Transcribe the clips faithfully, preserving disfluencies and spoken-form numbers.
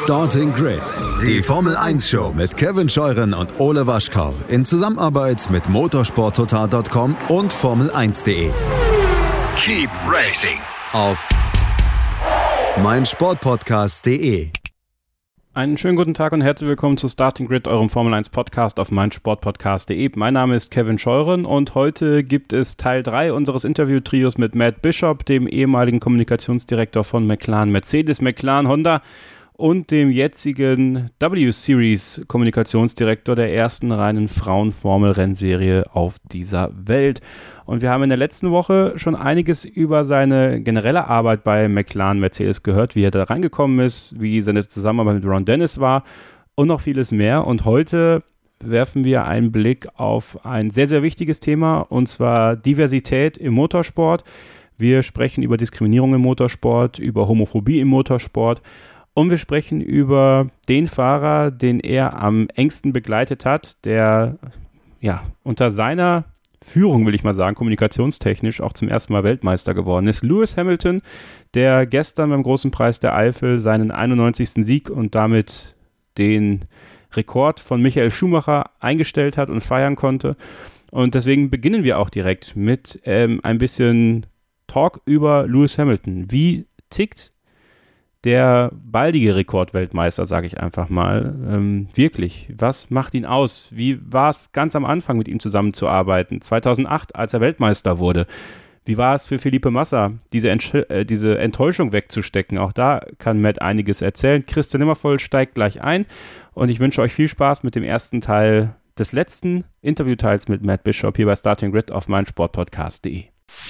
Starting Grid, die Formel eins Show mit Kevin Scheuren und Ole Waschkau in Zusammenarbeit mit motorsport total Punkt com und Formel eins Punkt de. Keep racing Auf meinsportpodcast Punkt de. Einen schönen guten Tag und herzlich willkommen zu Starting Grid, eurem Formel eins Podcast auf meinsportpodcast Punkt de. Mein Name ist Kevin Scheuren und heute gibt es Teil drei unseres Interviewtrios mit Matt Bishop, dem ehemaligen Kommunikationsdirektor von McLaren Mercedes, McLaren Honda und dem jetzigen W-Series-Kommunikationsdirektor der ersten reinen Frauen-Formel-Rennserie auf dieser Welt. Und wir haben in der letzten Woche schon einiges über seine generelle Arbeit bei McLaren Mercedes gehört, wie er da reingekommen ist, wie seine Zusammenarbeit mit Ron Dennis war und noch vieles mehr. Und heute werfen wir einen Blick auf ein sehr, sehr wichtiges Thema, und zwar Diversität im Motorsport. Wir sprechen über Diskriminierung im Motorsport, über Homophobie im Motorsport. Und wir sprechen über den Fahrer, den er am engsten begleitet hat, der ja unter seiner Führung, will ich mal sagen, kommunikationstechnisch auch zum ersten Mal Weltmeister geworden ist. Lewis Hamilton, der gestern beim Großen Preis der Eifel seinen einundneunzigsten Sieg und damit den Rekord von Michael Schumacher eingestellt hat und feiern konnte. Und deswegen beginnen wir auch direkt mit ähm, ein bisschen Talk über Lewis Hamilton. Wie tickt der baldige Rekordweltmeister, sage ich einfach mal, ähm, wirklich, was macht ihn aus? Wie war es ganz am Anfang, mit ihm zusammenzuarbeiten? zweitausendacht, als er Weltmeister wurde. Wie war es für Felipe Massa, diese, Entsch- äh, diese Enttäuschung wegzustecken? Auch da kann Matt einiges erzählen. Christian Nimmervoll steigt gleich ein und ich wünsche euch viel Spaß mit dem ersten Teil des letzten Interviewteils mit Matt Bishop hier bei Starting Grid auf meinsportpodcast Punkt de.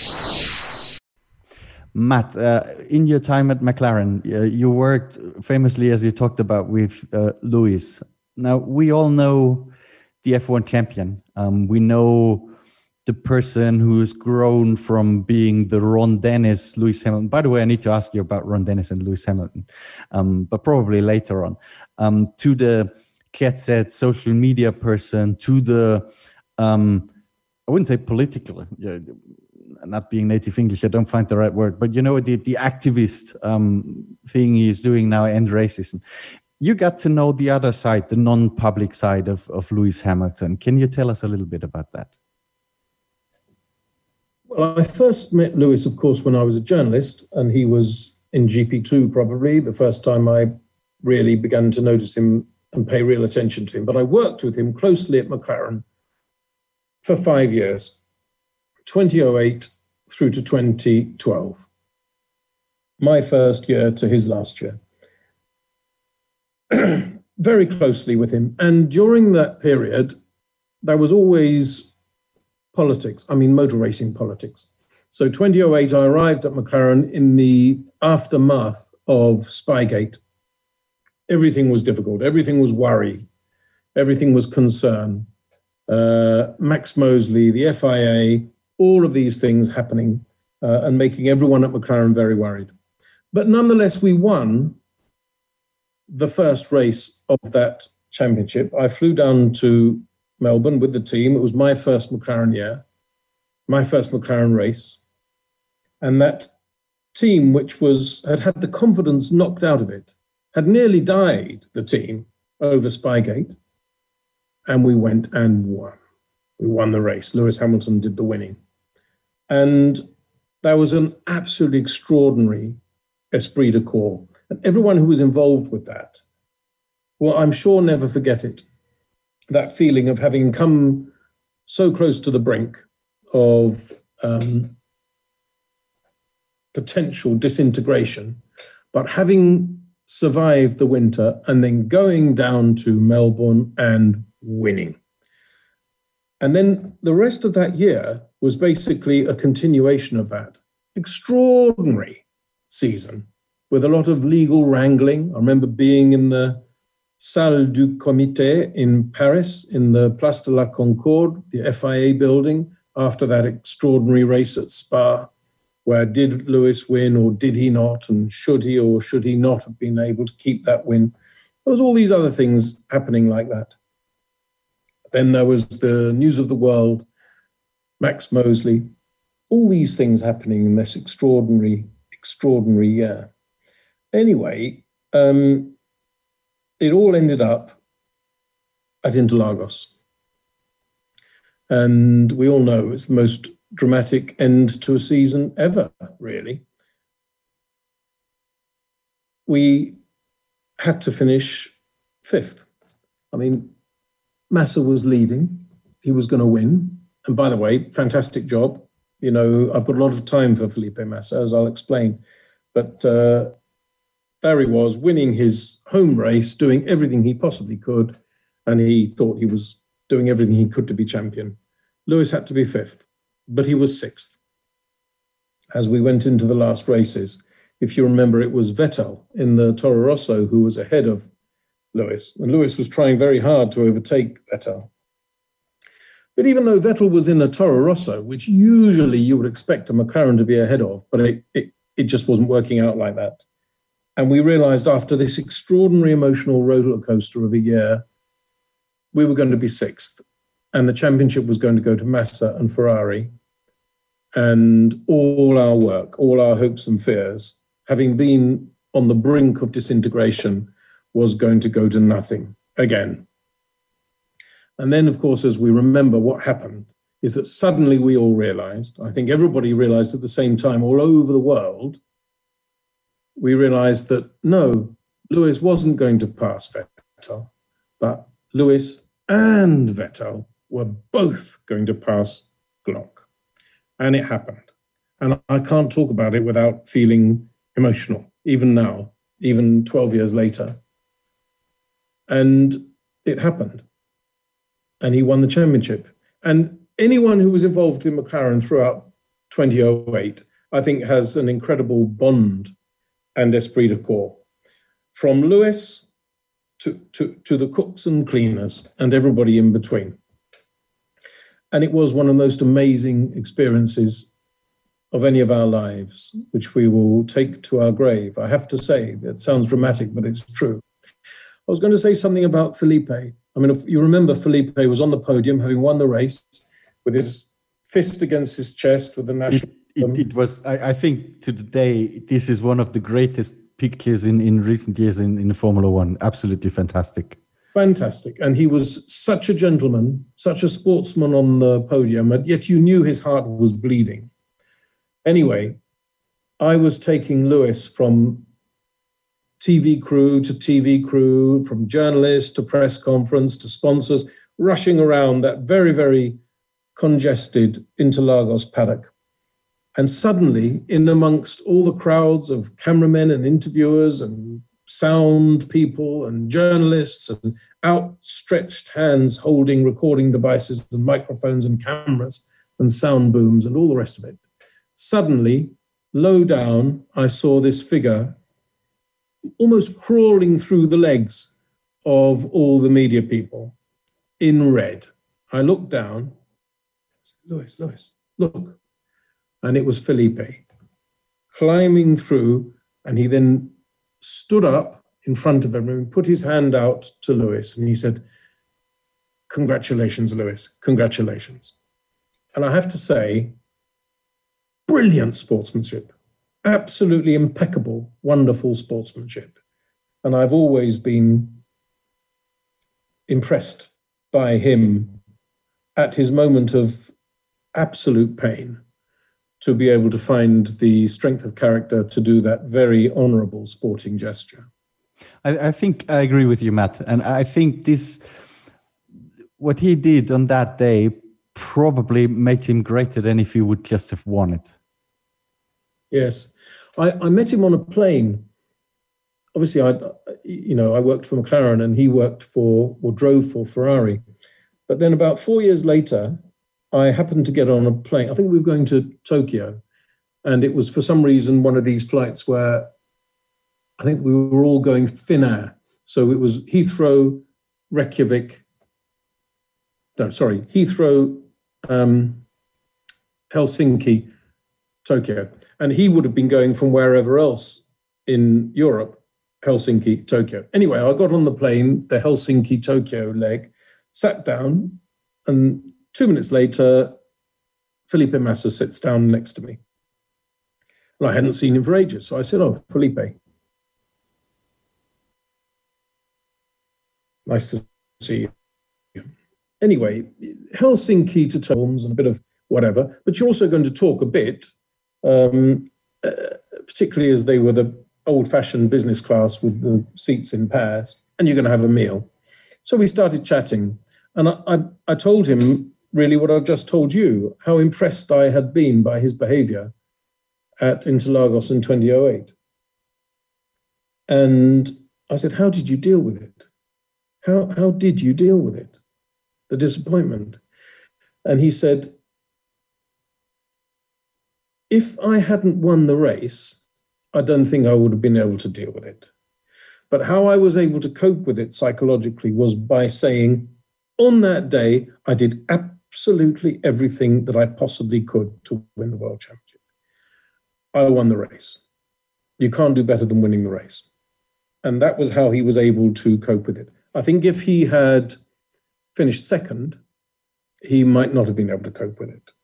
Matt, uh, in your time at McLaren, uh, you worked famously, as you talked about, with uh, Lewis. Now, we all know the F one champion. Um, we know the person who's grown from being the Ron Dennis, Lewis Hamilton. By the way, I need to ask you about Ron Dennis and Lewis Hamilton, um, but probably later on. Um, to the jet-set social media person, to the, um, I wouldn't say political, uh, not being native English, I don't find the right word, but you know, the, the activist um, thing he's doing now, end racism. You got to know the other side, the non-public side of, of Lewis Hamilton. Can you tell us a little bit about that? Well, I first met Lewis, of course, when I was a journalist, and he was in G P two probably, the first time I really began to notice him and pay real attention to him. But I worked with him closely at McLaren for five years. twenty oh eight through to twenty twelve. My first year to his last year. Very closely with him. And during that period, there was always politics. I mean, motor racing politics. So twenty oh eight, I arrived at McLaren in the aftermath of Spygate. Everything was difficult. Everything was worry. Everything was concern. Uh, Max Mosley, the F I A, all of these things happening uh, and making everyone at McLaren very worried. But nonetheless, we won the first race of that championship. I flew down to Melbourne with the team. It was my first McLaren year, my first McLaren race. And that team, which was had had the confidence knocked out of it, had nearly died, the team, over Spygate. And we went and won. We won the race. Lewis Hamilton did the winning. And that was an absolutely extraordinary esprit de corps. And everyone who was involved with that will, I'm sure, never forget it. That feeling of having come so close to the brink of um, potential disintegration, but having survived the winter and then going down to Melbourne and winning. And then the rest of that year was basically a continuation of that extraordinary season with a lot of legal wrangling. I remember being in the Salle du Comité in Paris, in the Place de la Concorde, the F I A building, after that extraordinary race at Spa, where did Lewis win or did he not? And should he or should he not have been able to keep that win? There was all these other things happening like that. Then there was the News of the World, Max Mosley, all these things happening in this extraordinary, extraordinary year. Anyway, um, it all ended up at Interlagos. And we all know it's the most dramatic end to a season ever, really. We had to finish fifth. I mean, Massa was leading. He was going to win. And by the way, fantastic job. You know, I've got a lot of time for Felipe Massa, as I'll explain. But uh, there he was, winning his home race, doing everything he possibly could. And he thought he was doing everything he could to be champion. Lewis had to be fifth, but he was sixth. As we went into the last races, if you remember, it was Vettel in the Toro Rosso who was ahead of Lewis. And Lewis was trying very hard to overtake Vettel. But even though Vettel was in a Toro Rosso, which usually you would expect a McLaren to be ahead of, but it, it, it just wasn't working out like that. And we realized after this extraordinary emotional roller coaster of a year, we were going to be sixth. And the championship was going to go to Massa and Ferrari. And all our work, all our hopes and fears, having been on the brink of disintegration, was going to go to nothing again. And then, of course, as we remember, what happened is that suddenly we all realized, I think everybody realized at the same time all over the world, we realized that no, Lewis wasn't going to pass Vettel, but Lewis and Vettel were both going to pass Glock. And it happened. And I can't talk about it without feeling emotional, even now, even twelve years later. And it happened. And he won the championship. And anyone who was involved in McLaren throughout twenty oh eight, I think, has an incredible bond and esprit de corps. From Lewis to, to, to the cooks and cleaners and everybody in between. And it was one of the most amazing experiences of any of our lives, which we will take to our grave. I have to say, that sounds dramatic, but it's true. I was going to say something about Felipe. I mean, if you remember, Felipe was on the podium, having won the race, with his fist against his chest with the national. It, it, it was, I, I think, to today, this is one of the greatest pictures in, in recent years in, in Formula One. Absolutely fantastic. Fantastic. And he was such a gentleman, such a sportsman on the podium, and yet you knew his heart was bleeding. Anyway, I was taking Lewis from T V crew to T V crew, from journalists to press conference to sponsors, rushing around that very, very congested Interlagos paddock. And suddenly, in amongst all the crowds of cameramen and interviewers and sound people and journalists and outstretched hands holding recording devices and microphones and cameras and sound booms and all the rest of it, suddenly, low down, I saw this figure almost crawling through the legs of all the media people in red. I looked down, I said, Lewis, Lewis, look. And it was Felipe climbing through, and he then stood up in front of everyone, put his hand out to Lewis, and he said, congratulations, Lewis, congratulations. And I have to say, brilliant sportsmanship. Absolutely impeccable, wonderful sportsmanship. And I've always been impressed by him at his moment of absolute pain to be able to find the strength of character to do that very honorable sporting gesture. I, I think I agree with you, Matt. And I think this, what he did on that day probably made him greater than if he would just have won it. Yes. I, I met him on a plane. Obviously, I, you know, I worked for McLaren and he worked for, or drove for Ferrari. But then about four years later, I happened to get on a plane. I think we were going to Tokyo. And it was for some reason one of these flights where I think we were all going Finnair. So it was Heathrow, Reykjavik. No, sorry, Heathrow, um, Helsinki, Tokyo. And he would have been going from wherever else in Europe, Helsinki, Tokyo. Anyway, I got on the plane, the Helsinki-Tokyo leg, sat down, and two minutes later, Felipe Massa sits down next to me. And I hadn't seen him for ages. So I said, oh, Felipe. Nice to see you. Anyway, Helsinki to Tolms and a bit of whatever, but you're also going to talk a bit, um, uh, particularly as they were the old-fashioned business class with the seats in pairs, and you're going to have a meal. So we started chatting, and I, I, I told him really what I've just told you, how impressed I had been by his behavior at Interlagos in twenty oh eight. And I said, how did you deal with it? How, how did you deal with it? The disappointment. And he said, if I hadn't won the race, I don't think I would have been able to deal with it. But how I was able to cope with it psychologically was by saying, on that day, I did absolutely everything that I possibly could to win the world championship. I won the race. You can't do better than winning the race. And that was how he was able to cope with it. I think if he had finished second, he might not have been able to cope with it.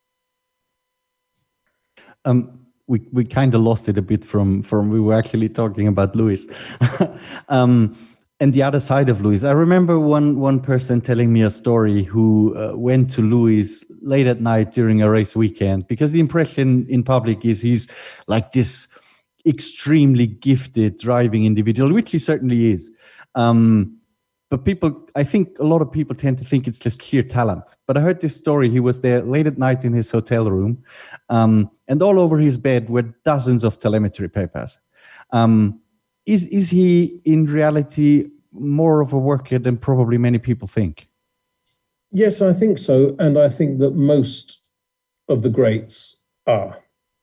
Um, we we kind of lost it a bit from, from we were actually talking about Lewis. um, and the other side of Lewis. I remember one, one person telling me a story who uh, went to Lewis late at night during a race weekend, because the impression in public is he's like this extremely gifted driving individual, which he certainly is. Um, but people, I think a lot of people tend to think it's just sheer talent. But I heard this story. He was there late at night in his hotel room, um, and all over his bed were dozens of telemetry papers. Um, is, is he in reality more of a worker than probably many people think? Yes, I think so. And I think that most of the greats are.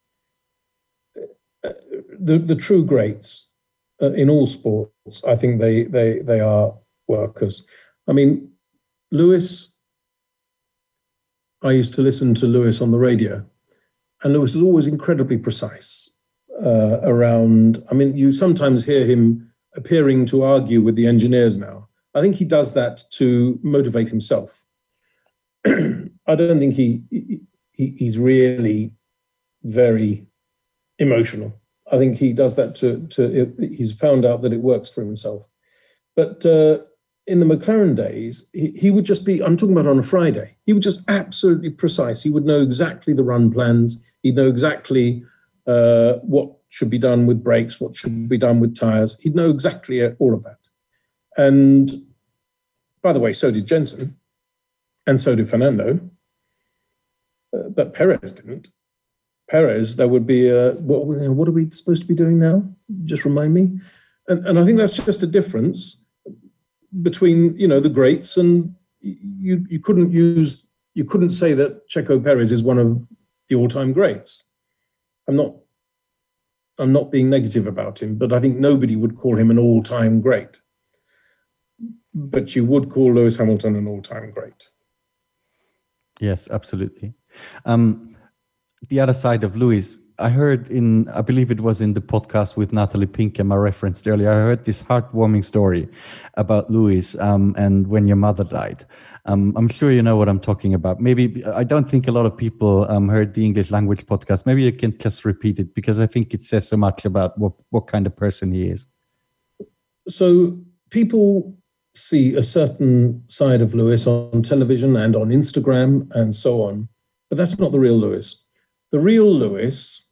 The, the true greats uh, in all sports, I think they, they, they are workers. I mean, Lewis, I used to listen to Lewis on the radio, and Lewis is always incredibly precise uh, around, I mean, you sometimes hear him appearing to argue with the engineers now. I think he does that to motivate himself. I don't think he, he he's really very emotional. I think he does that to, to he's found out that it works for himself. But uh, in the McLaren days, he, he would just be, I'm talking about on a Friday, he would just absolutely precise. He would know exactly the run plans. He'd know exactly uh, what should be done with brakes, what should be done with tires. He'd know exactly all of that. And by the way, so did Jensen, and so did Fernando. Uh, but Perez didn't. Perez, there would be, a, what, what are we supposed to be doing now? Just remind me. And, and I think that's just a difference between, you know, the greats, and you you couldn't use, you couldn't say that Checo Perez is one of the all-time greats. I'm not, I'm not being negative about him, but I think nobody would call him an all-time great. But you would call Lewis Hamilton an all-time great. Yes, absolutely. Um, the other side of Lewis, I heard in, I believe it was in the podcast with Natalie Pinkham I referenced earlier, I heard this heartwarming story about Lewis um, and when your mother died. Um, I'm sure you know what I'm talking about. Maybe, I don't think a lot of people um, heard the English language podcast. Maybe you can just repeat it, because I think it says so much about what, what kind of person he is. So people see a certain side of Lewis on television and on Instagram and so on, but that's not the real Lewis. The real Lewis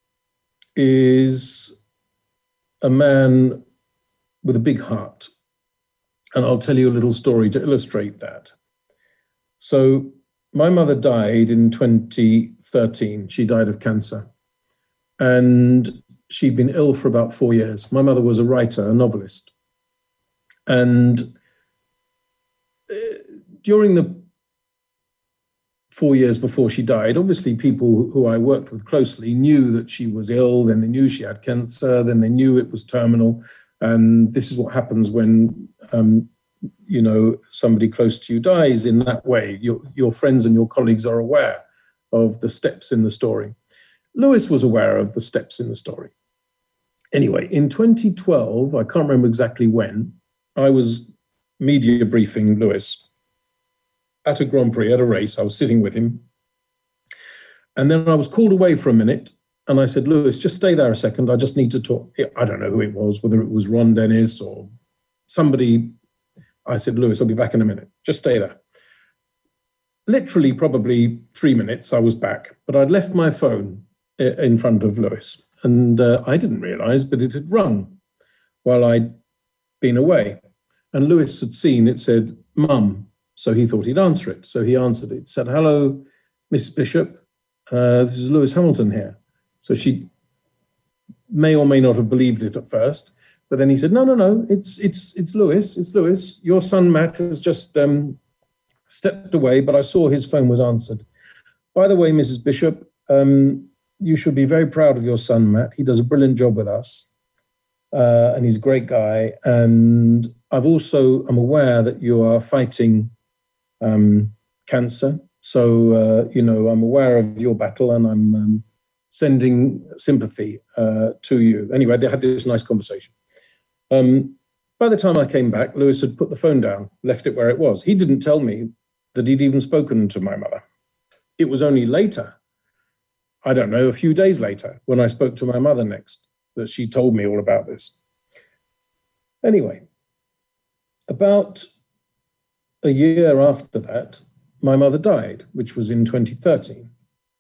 is a man with a big heart. And I'll tell you a little story to illustrate that. So my mother died in twenty thirteen. She died of cancer. And she'd been ill for about four years. My mother was a writer, a novelist. And during the four years before she died, obviously people who I worked with closely knew that she was ill, then they knew she had cancer, then they knew it was terminal. And this is what happens when, um, you know, somebody close to you dies in that way. Your, your friends and your colleagues are aware of the steps in the story. Lewis was aware of the steps in the story. Anyway, in twenty twelve, I can't remember exactly when, I was media briefing Lewis at a Grand Prix, at a race. I was sitting with him. And then I was called away for a minute. And I said, Lewis, just stay there a second. I just need to talk. I don't know who it was, whether it was Ron Dennis or somebody. I said, Lewis, I'll be back in a minute. Just stay there. Literally, probably three minutes, I was back. But I'd left my phone in front of Lewis. And uh, I didn't realize, but it had rung while I'd been away. And Lewis had seen it said, Mum. So he thought he'd answer it. So he answered it. He said, hello, Missus Bishop. Uh, this is Lewis Hamilton here. So she may or may not have believed it at first. But then he said, no, no, no, it's it's it's Lewis. It's Lewis. Your son, Matt, has just um, stepped away, but I saw his phone was answered. By the way, Missus Bishop, um, you should be very proud of your son, Matt. He does a brilliant job with us. Uh, and he's a great guy. And I've also, I'm aware that you are fighting um, cancer. So, uh, you know, I'm aware of your battle and I'm um, sending sympathy uh, to you. Anyway, they had this nice conversation. Um, by the time I came back, Lewis had put the phone down, left it where it was. He didn't tell me that he'd even spoken to my mother. It was only later, I don't know, a few days later, when I spoke to my mother next, that she told me all about this. Anyway, about a year after that, my mother died, which was in twenty thirteen.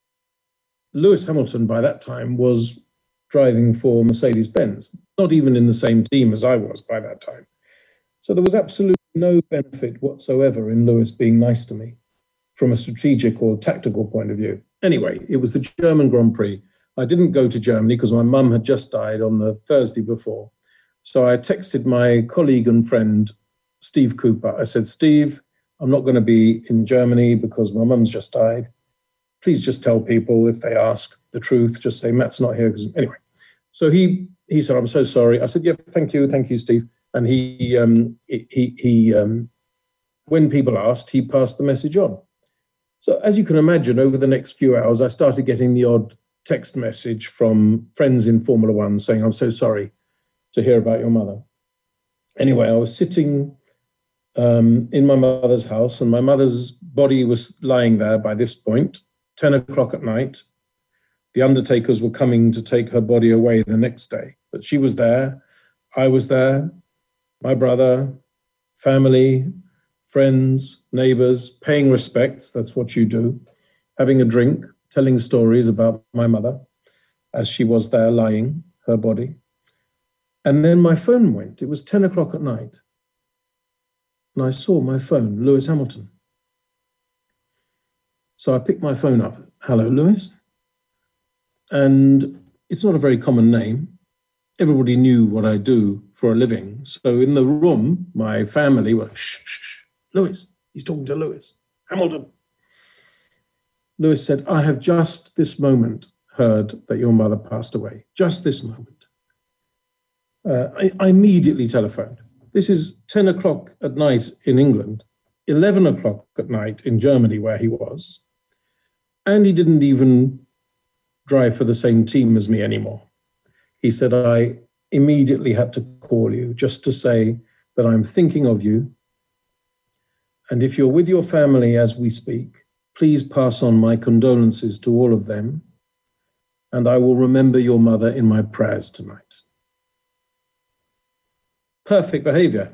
Lewis Hamilton, by that time, was driving for Mercedes-Benz, not even in the same team as I was by that time. So there was absolutely no benefit whatsoever in Lewis being nice to me from a strategic or tactical point of view. Anyway, it was the German Grand Prix. I didn't go to Germany because my mum had just died on the Thursday before. So I texted my colleague and friend, Steve Cooper. I said, Steve, I'm not going to be in Germany because my mum's just died. Please just tell people if they ask the truth, just say Matt's not here. Anyway, so he he said, I'm so sorry. I said, yeah, thank you. Thank you, Steve. And he, um, he, he um, when people asked, he passed the message on. So as you can imagine, over the next few hours, I started getting the odd text message from friends in Formula One saying, I'm so sorry to hear about your mother. Anyway, I was sitting um, in my mother's house and my mother's body was lying there by this point, ten o'clock at night. The undertakers were coming to take her body away the next day. But she was there. I was there. My brother, family, friends, neighbors, paying respects. That's what you do. Having a drink, telling stories about my mother as she was there lying, her body. And then my phone went. It was ten o'clock at night. And I saw my phone, Lewis Hamilton. So I picked my phone up. Hello, Lewis. And it's not a very common name. Everybody knew what I do for a living. So in the room, my family were, shh, shh, shh. Lewis, he's talking to Lewis Hamilton. Lewis said, I have just this moment heard that your mother passed away. Just this moment. Uh, I, I immediately telephoned. This is ten o'clock at night in England, eleven o'clock at night in Germany where he was. And he didn't even drive for the same team as me anymore. He said, I immediately had to call you just to say that I'm thinking of you. And if you're with your family as we speak, please pass on my condolences to all of them. And I will remember your mother in my prayers tonight. Perfect behavior.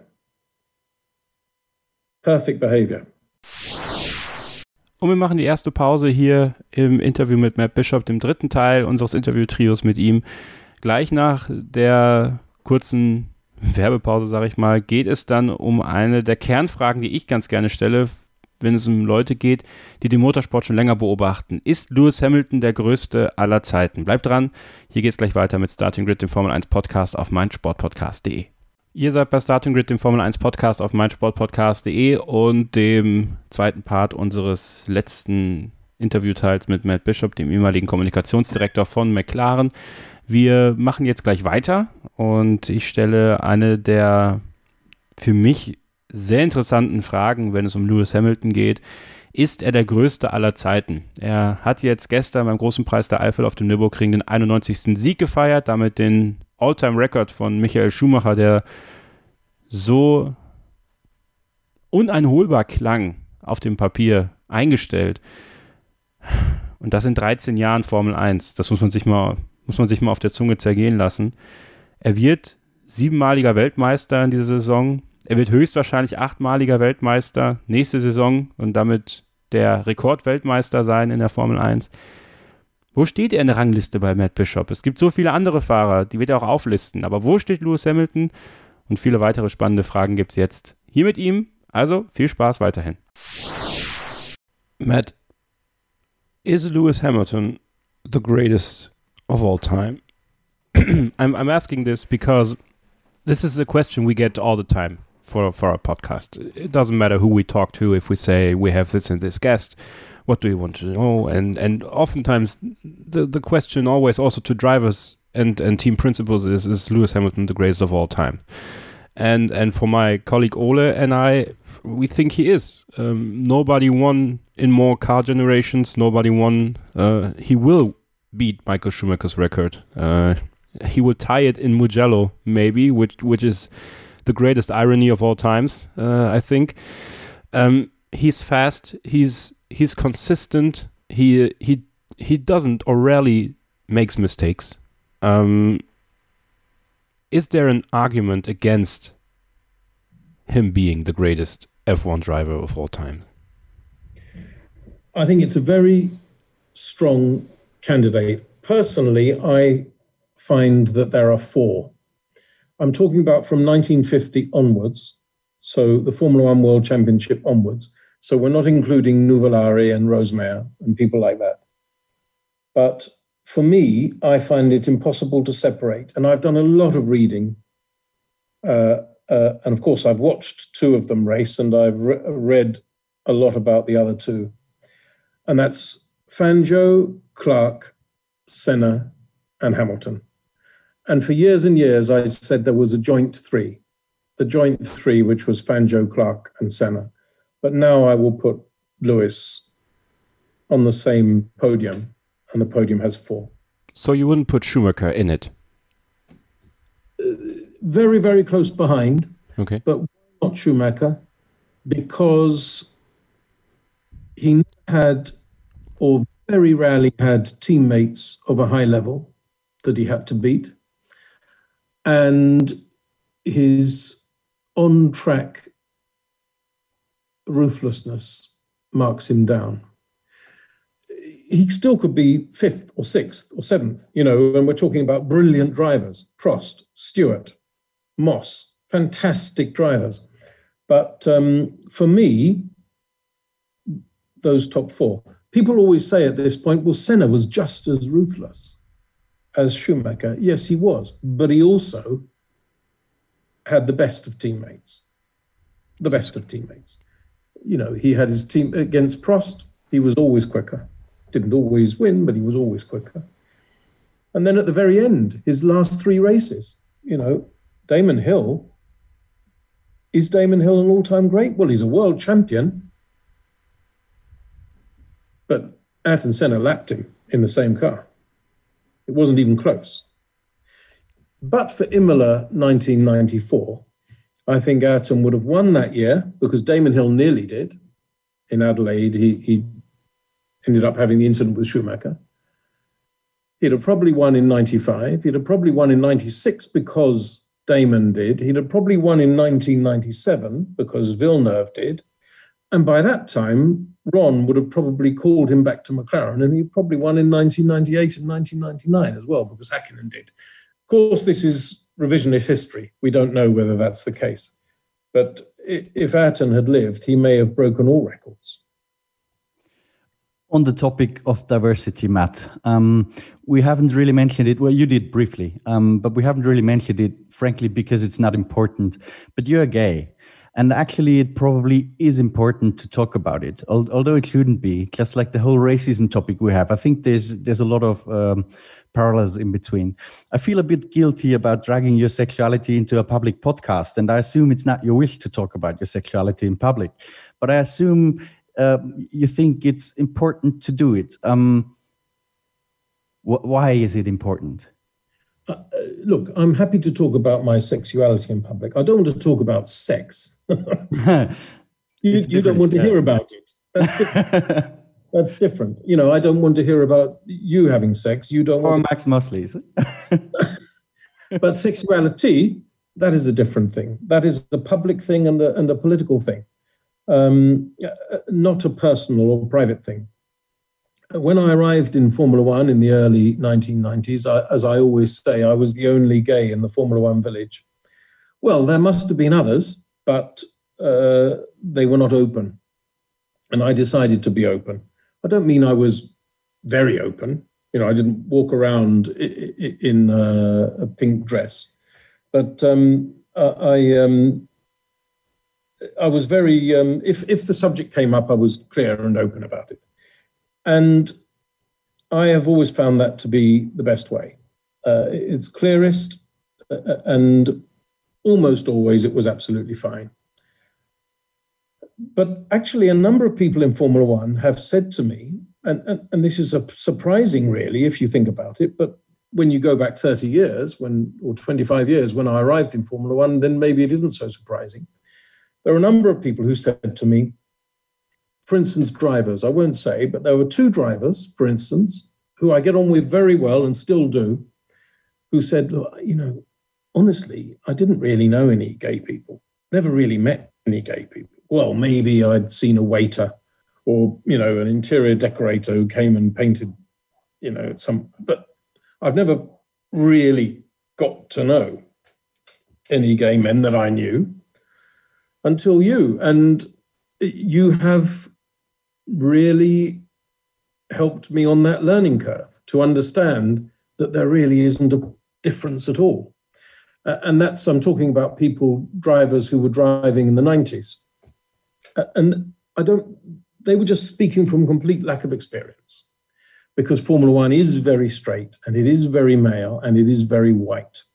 Perfect behavior. Und wir machen die erste Pause hier im Interview mit Matt Bishop, dem dritten Teil unseres Interview-Trios mit ihm. Gleich nach der kurzen Werbepause, sage ich mal, geht es dann um eine der Kernfragen, die ich ganz gerne stelle, wenn es um Leute geht, die den Motorsport schon länger beobachten. Ist Lewis Hamilton der größte aller Zeiten? Bleibt dran, hier geht es gleich weiter mit Starting Grid, dem Formel eins Podcast auf meinsportpodcast punkt de. Ihr seid bei Starting Grid, dem Formel eins Podcast auf meinsportpodcast punkt de und dem zweiten Part unseres letzten Interviewteils mit Matt Bishop, dem ehemaligen Kommunikationsdirektor von McLaren. Wir machen jetzt gleich weiter und ich stelle eine der für mich sehr interessanten Fragen, wenn es um Lewis Hamilton geht. Ist er der größte aller Zeiten? Er hat jetzt gestern beim Großen Preis der Eifel auf dem Nürburgring den einundneunzigsten Sieg gefeiert, damit den All-Time-Record von Michael Schumacher, der so uneinholbar klang, auf dem Papier eingestellt. Und das in dreizehn Jahren Formel eins. Das muss man sich mal, muss man sich mal auf der Zunge zergehen lassen. Er wird siebenmaliger Weltmeister in dieser Saison. Er wird höchstwahrscheinlich achtmaliger Weltmeister nächste Saison und damit der Rekordweltmeister sein in der Formel eins. Wo steht er in der Rangliste bei Matt Bishop? Es gibt so viele andere Fahrer, die wird er auch auflisten. Aber wo steht Lewis Hamilton? Und viele weitere spannende Fragen gibt es jetzt hier mit ihm. Also viel Spaß weiterhin. Matt, is Lewis Hamilton the greatest of all time? I'm, I'm asking this because this is a question we get all the time for, for our podcast. It doesn't matter who we talk to. If we say we have this and this guest, what do you want to know? And and oftentimes the, the question always also to drivers and, and team principals is, is Lewis Hamilton the greatest of all time? And and for my colleague Ole and I, we think he is. Um, nobody won in more car generations. Nobody won. Uh, he will beat Michael Schumacher's record. Uh, he will tie it in Mugello, maybe, which which is the greatest irony of all times. Uh, I think. Um, he's fast. He's he's consistent. He he he doesn't or rarely makes mistakes. Um, Is there an argument against him being the greatest F one driver of all time? I think it's a very strong candidate. Personally, I find that there are four. I'm talking about from nineteen fifty onwards, so the Formula One World Championship onwards. So we're not including Nuvolari and Rosemeyer and people like that. But for me, I find it impossible to separate. And I've done a lot of reading. Uh, uh, and of course, I've watched two of them race, and I've re- read a lot about the other two. And that's Fangio, Clark, Senna, and Hamilton. And for years and years, I said there was a joint three. The joint three, which was Fangio, Clark, and Senna. But now I will put Lewis on the same podium. And the podium has four. So you wouldn't put Schumacher in it? Uh, very, very close behind. Okay. But not Schumacher, because he had, or very rarely had, teammates of a high level that he had to beat. And his on-track ruthlessness marks him down. He still could be fifth or sixth or seventh, you know, and we're talking about brilliant drivers, Prost, Stewart, Moss, fantastic drivers. But um, for me, those top four, people always say at this point, well, Senna was just as ruthless as Schumacher. Yes, he was, but he also had the best of teammates, the best of teammates. You know, he had his team against Prost, he was always quicker. Didn't always win, but he was always quicker. And then at the very end, his last three races, you know, Damon Hill, is Damon Hill an all-time great? Well, he's a world champion, but Ayrton Senna lapped him in the same car. It wasn't even close. But for Imola nineteen ninety-four, I think Ayrton would have won that year because Damon Hill nearly did. In Adelaide, he, he ended up having the incident with Schumacher. He'd have probably won in ninety-five. He'd have probably won in ninety-six because Damon did. He'd have probably won in nineteen ninety-seven because Villeneuve did. And by that time, Ron would have probably called him back to McLaren, and he probably won in nineteen ninety-eight and nineteen ninety-nine as well because Häkkinen did. Of course, this is revisionist history. We don't know whether that's the case. But if Ayrton had lived, he may have broken all records. On the topic of diversity, Matt, um, we haven't really mentioned it. Well, you did briefly, um, but we haven't really mentioned it, frankly, because it's not important. But you're gay. And actually, it probably is important to talk about it, although it shouldn't be. Just like the whole racism topic we have, I think there's there's a lot of um, parallels in between. I feel a bit guilty about dragging your sexuality into a public podcast, and I assume it's not your wish to talk about your sexuality in public. But I assume uh, you think it's important to do it. Um, wh- why is it important? Uh, look, I'm happy to talk about my sexuality in public. I don't want to talk about sex. you you don't want to hear about it. That's different. That's different. You know, I don't want to hear about you having sex. You don't or want Max Mosley's. But sexuality that is a different thing. That is a public thing and a, and a political thing, um, not a personal or private thing. When I arrived in Formula One in the early nineteen nineties, I, as I always say, I was the only gay in the Formula One village. Well, there must have been others, but uh, they were not open. And I decided to be open. I don't mean I was very open. You know, I didn't walk around in a, a pink dress, but um, I um, I was very. Um, if if the subject came up, I was clear and open about it, and I have always found that to be the best way. Uh, it's clearest, uh, and almost always it was absolutely fine. But actually, a number of people in Formula One have said to me, and, and, and this is a surprising, really, if you think about it, but when you go back thirty years, when or twenty-five years, when I arrived in Formula One, then maybe it isn't so surprising. There are a number of people who said to me, for instance, drivers, I won't say, but there were two drivers, for instance, who I get on with very well and still do, who said, look, you know, honestly, I didn't really know any gay people, never really met any gay people. Well, maybe I'd seen a waiter or, you know, an interior decorator who came and painted, you know, some, but I've never really got to know any gay men that I knew until you. And you have really helped me on that learning curve to understand that there really isn't a difference at all. Uh, and that's, I'm talking about people, drivers who were driving in the nineties. Uh, and I don't, they were just speaking from complete lack of experience, because Formula One is very straight and it is very male and it is very white.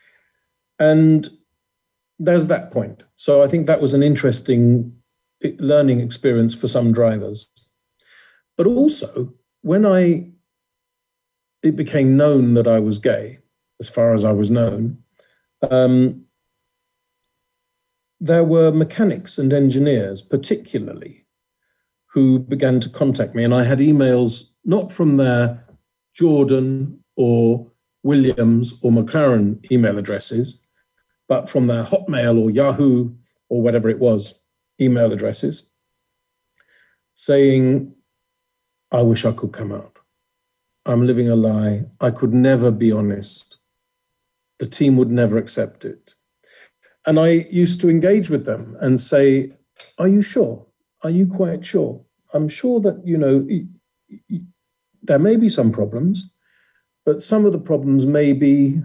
And there's that point. So I think that was an interesting learning experience for some drivers. But also, when I, it became known that I was gay, as far as I was known, um, there were mechanics and engineers, particularly, who began to contact me. And I had emails not from their Jordan or Williams or McLaren email addresses, but from their Hotmail or Yahoo or whatever it was, email addresses, saying, I wish I could come out. I'm living a lie. I could never be honest. The team would never accept it. And I used to engage with them and say, are you sure? Are you quite sure? I'm sure that, you know, there may be some problems, but some of the problems may be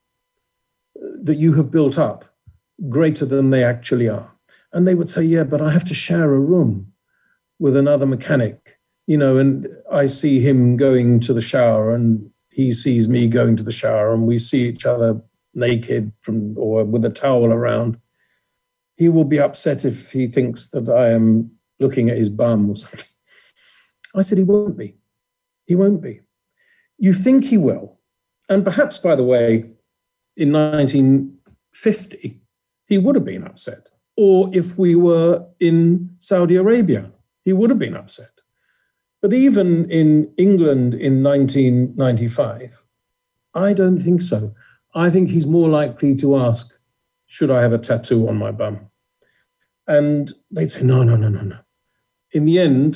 that you have built up greater than they actually are. And they would say, yeah, but I have to share a room with another mechanic, you know, and I see him going to the shower and he sees me going to the shower and we see each other naked from or with a towel around. He will be upset if he thinks that I am looking at his bum or something. I said, he won't be. He won't be. You think he will. And perhaps, by the way, in nineteen fifty, he would have been upset. Or if we were in Saudi Arabia, he would have been upset. But even in England in nineteen ninety-five, I don't think so. I think he's more likely to ask, should I have a tattoo on my bum? And they'd say, no, no, no, no, no. In the end,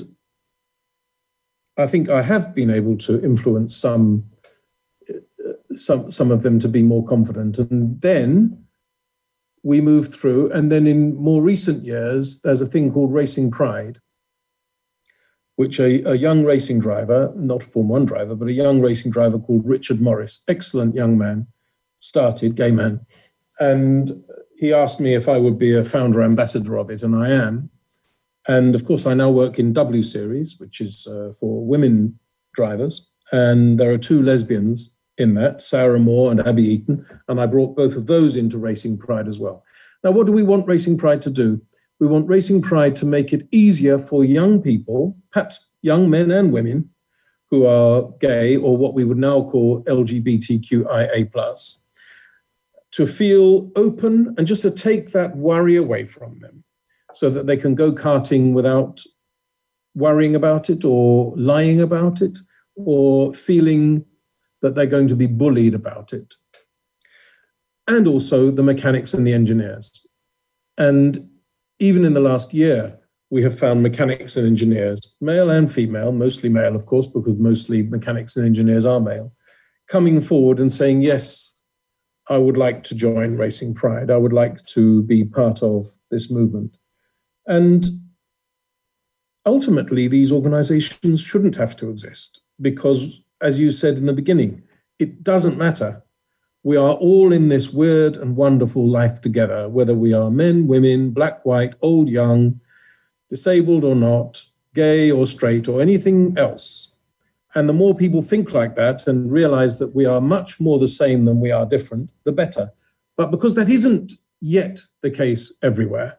I think I have been able to influence some, some, some of them to be more confident. And then we moved through. And then in more recent years, there's a thing called Racing Pride, which a, a young racing driver, not a Formula One driver, but a young racing driver called Richard Morris, excellent young man, started, gay man. And he asked me if I would be a founder ambassador of it, and I am. And of course, I now work in W Series, which is uh, for women drivers. And there are two lesbians in that, Sarah Moore and Abby Eaton. And I brought both of those into Racing Pride as well. Now, what do we want Racing Pride to do? We want Racing Pride to make it easier for young people, perhaps young men and women, who are gay or what we would now call L G B T Q I A plus, to feel open and just to take that worry away from them so that they can go karting without worrying about it or lying about it or feeling that they're going to be bullied about it. and also the mechanics and the engineers. And even in the last year, we have found mechanics and engineers, male and female, mostly male, of course, because mostly mechanics and engineers are male, coming forward and saying, yes, I would like to join Racing Pride. I would like to be part of this movement. And ultimately, these organizations shouldn't have to exist because, as you said in the beginning, it doesn't matter. We are all in this weird and wonderful life together, whether we are men, women, black, white, old, young, disabled or not, gay or straight or anything else. And the more people think like that and realize that we are much more the same than we are different, the better. But because that isn't yet the case everywhere,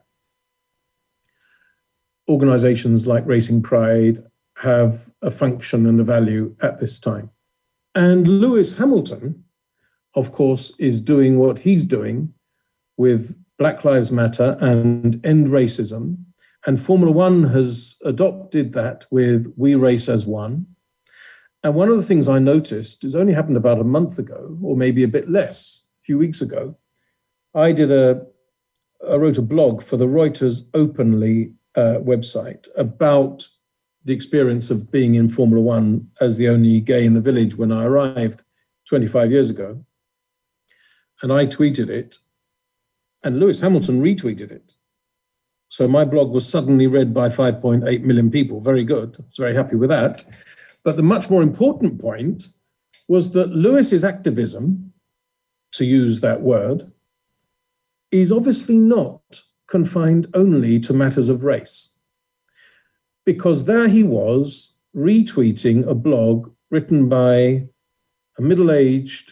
organizations like Racing Pride have a function and a value at this time. And Lewis Hamilton, of course, is doing what he's doing with Black Lives Matter and End Racism. And Formula One has adopted that with We Race as One. And one of the things I noticed is only happened about a month ago, or maybe a bit less, a few weeks ago. I did a, I wrote a blog for the Reuters Openly uh, website about the experience of being in Formula One as the only gay in the village when I arrived twenty-five years ago. And I tweeted it, and Lewis Hamilton retweeted it. So my blog was suddenly read by five point eight million people. Very good. I was very happy with that. But the much more important point was that Lewis's activism, to use that word, is obviously not confined only to matters of race. Because there he was retweeting a blog written by a middle-aged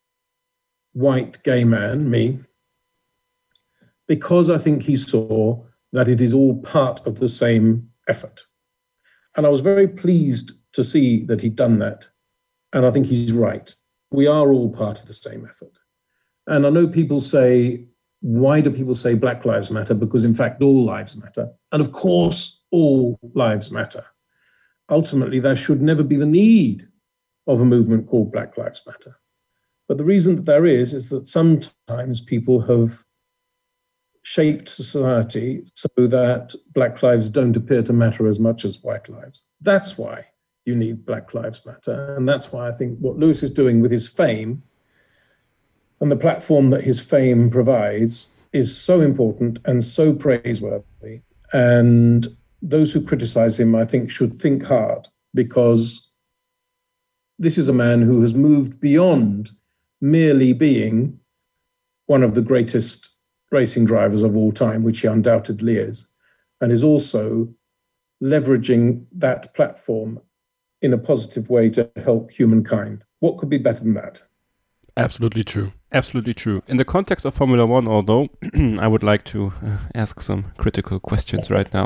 white gay man, me, because I think he saw that it is all part of the same effort. And I was very pleased to see that he'd done that. And I think he's right. We are all part of the same effort. And I know people say, why do people say Black Lives Matter? Because in fact, all lives matter. And of course, all lives matter. Ultimately, there should never be the need of a movement called Black Lives Matter. But the reason that there is, is that sometimes people have shaped society so that Black lives don't appear to matter as much as white lives. That's why you need Black Lives Matter. And that's why I think what Lewis is doing with his fame and the platform that his fame provides is so important and so praiseworthy. And those who criticize him, I think, should think hard, because this is a man who has moved beyond merely being one of the greatest racing drivers of all time, which he undoubtedly is, and is also leveraging that platform in a positive way to help humankind. What could be better than that? Absolutely true. Absolutely true. In the context of Formula One, although, I would like to uh, ask some critical questions right now.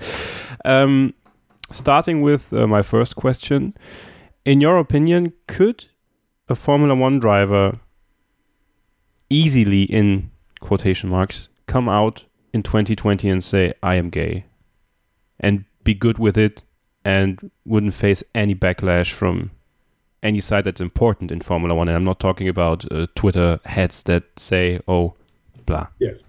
um, starting with uh, my first question. In your opinion, could a Formula One driver easily, in quotation marks, come out in twenty twenty and say, I am gay, and be good with it and wouldn't face any backlash from any side that's important in Formula One? And I'm not talking about uh, Twitter heads that say, oh, blah. Yes.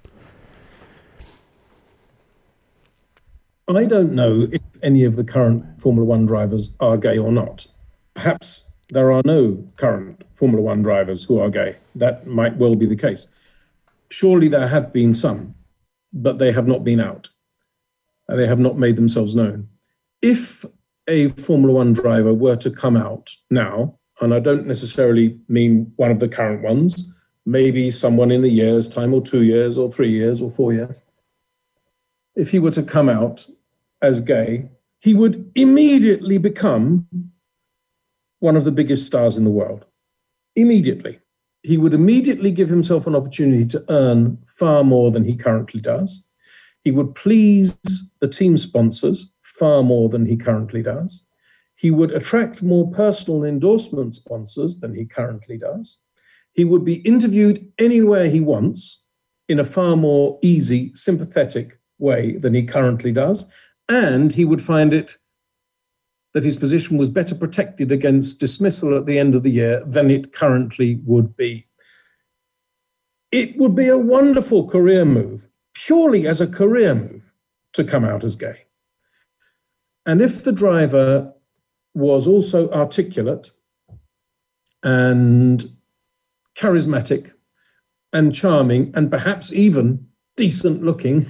I don't know if any of the current Formula One drivers are gay or not. Perhaps there are no current Formula One drivers who are gay. That might well be the case. Surely there have been some, but they have not been out. They have not made themselves known. If a Formula One driver were to come out now, and I don't necessarily mean one of the current ones, maybe someone in a year's time or two years or three years or four years, if he were to come out as gay, he would immediately become one of the biggest stars in the world. Immediately. He would immediately give himself an opportunity to earn far more than he currently does. He would please the team sponsors far more than he currently does. He would attract more personal endorsement sponsors than he currently does. He would be interviewed anywhere he wants in a far more easy, sympathetic way than he currently does. And he would find it that his position was better protected against dismissal at the end of the year than it currently would be. it would be a wonderful career move, purely as a career move, to come out as gay. And if the driver was also articulate and charismatic and charming and perhaps even decent looking,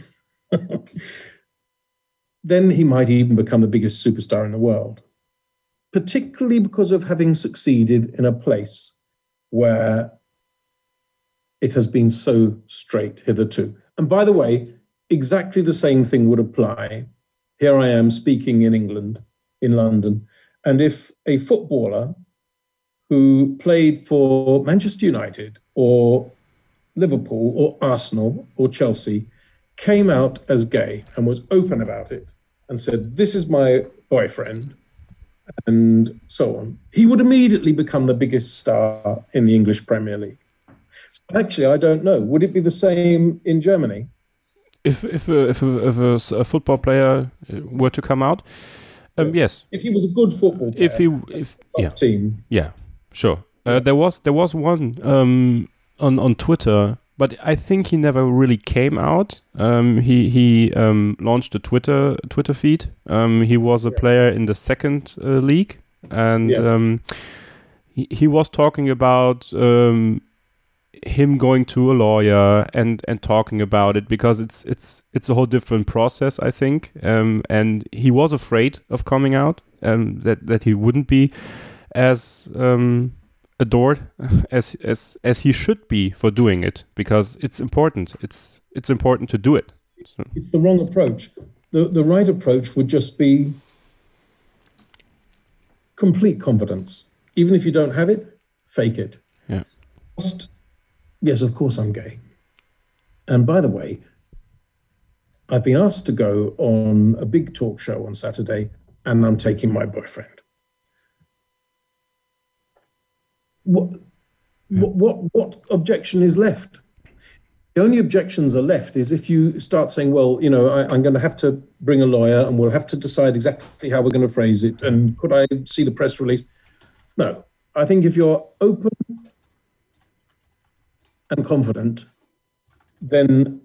then he might even become the biggest superstar in the world, particularly because of having succeeded in a place where it has been so straight hitherto. And by the way, exactly the same thing would apply. Here I am speaking in England, in London, and if a footballer who played for Manchester United or Liverpool or Arsenal or Chelsea came out as gay and was open about it and said, this is my boyfriend, and so on, he would immediately become the biggest star in the English Premier League. So actually, I don't know. Would it be the same in Germany? If if a, if a, if a, a football player were to come out, um, yes. If he was a good football player, if he if yeah team, yeah, sure. Uh, there was there was one um, on on Twitter, but I think he never really came out. Um, he he um, launched a Twitter Twitter feed. Um, he was a yes. player in the second uh, league, and yes. um, he he was talking about um, him going to a lawyer and and talking about it, because it's it's it's a whole different process, I think. Um, and he was afraid of coming out, um, that that he wouldn't be as um, adored as as as he should be for doing it, because it's important. It's it's important to do it. So. It's the wrong approach. The the right approach would just be complete confidence. Even if you don't have it, fake it. Yeah. Just, yes, of course I'm gay. And by the way, I've been asked to go on a big talk show on Saturday, and I'm taking my boyfriend. What, yeah. what, what, what objection is left? The only objections are left is if you start saying, well, you know, I, I'm going to have to bring a lawyer and we'll have to decide exactly how we're going to phrase it. And could I see the press release? No, I think if you're open and confident, then,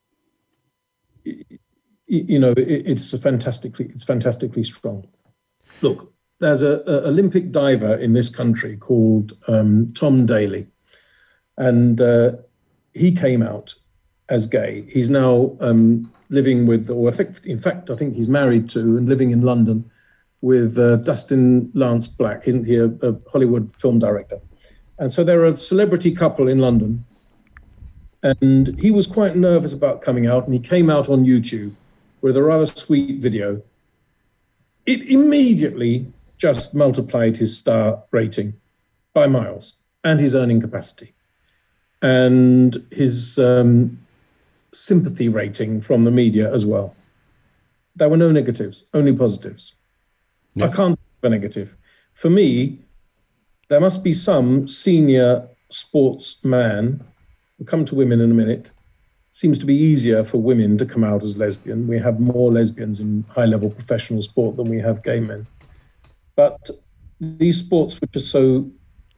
you know, it's a fantastically, it's fantastically strong. Look, there's a, a Olympic diver in this country called um, Tom Daley, and uh, he came out as gay. He's now um, living with, or I think, in fact, I think he's married to and living in London with uh, Dustin Lance Black. Isn't he a, a Hollywood film director? And so they're a celebrity couple in London. And he was quite nervous about coming out, and he came out on YouTube with a rather sweet video. It immediately just multiplied his star rating by miles and his earning capacity and his um, sympathy rating from the media as well. There were no negatives, only positives. Yeah. I can't think of a negative. For me, there must be some senior sportsman. We'll come to women in a minute. Seems to be easier for women to come out as lesbian. We have more lesbians in high-level professional sport than we have gay men. But these sports, which are so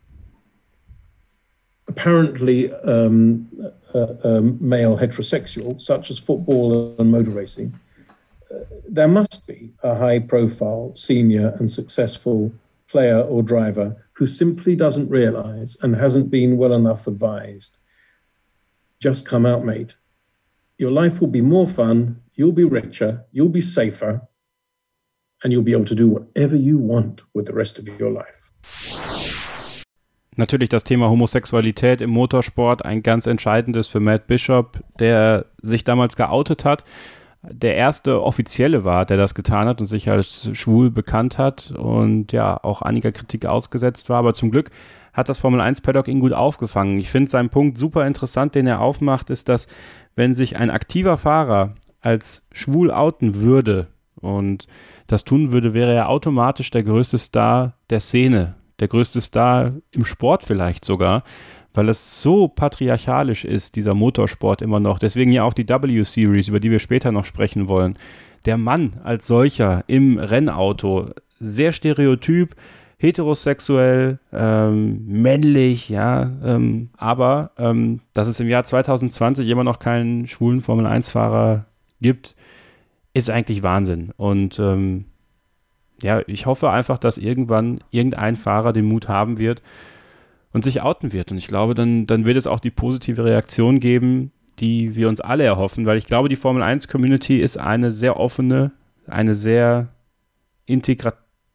apparently um, uh, um, male heterosexual, such as football and motor racing, uh, there must be a high-profile, senior and successful player or driver who simply doesn't realize and hasn't been well enough advised. Just come out, mate. Your life will be more fun, you'll be richer, you'll be safer, and you'll be able to do whatever you want with the rest of your life. Natürlich das Thema Homosexualität im Motorsport, ein ganz entscheidendes für Matt Bishop, der sich damals geoutet hat, der erste Offizielle war, der das getan hat und sich als schwul bekannt hat und ja auch einiger Kritik ausgesetzt war, aber zum Glück hat das Formel eins Paddock ihn gut aufgefangen. Ich finde seinen Punkt super interessant, den er aufmacht, ist, dass wenn sich ein aktiver Fahrer als schwul outen würde und das tun würde, wäre er automatisch der größte Star der Szene, der größte Star im Sport vielleicht sogar, weil es so patriarchalisch ist, dieser Motorsport immer noch. Deswegen ja auch die W-Series, über die wir später noch sprechen wollen. Der Mann als solcher im Rennauto, sehr stereotyp, heterosexuell, ähm, männlich, ja, ähm, aber ähm, dass es im Jahr zwanzig zwanzig immer noch keinen schwulen Formel eins Fahrer gibt, ist eigentlich Wahnsinn. Und ähm, ja, ich hoffe einfach, dass irgendwann irgendein Fahrer den Mut haben wird und sich outen wird. Und ich glaube, dann, dann wird es auch die positive Reaktion geben, die wir uns alle erhoffen, weil ich glaube, die Formel eins Community ist eine sehr offene, eine sehr integra-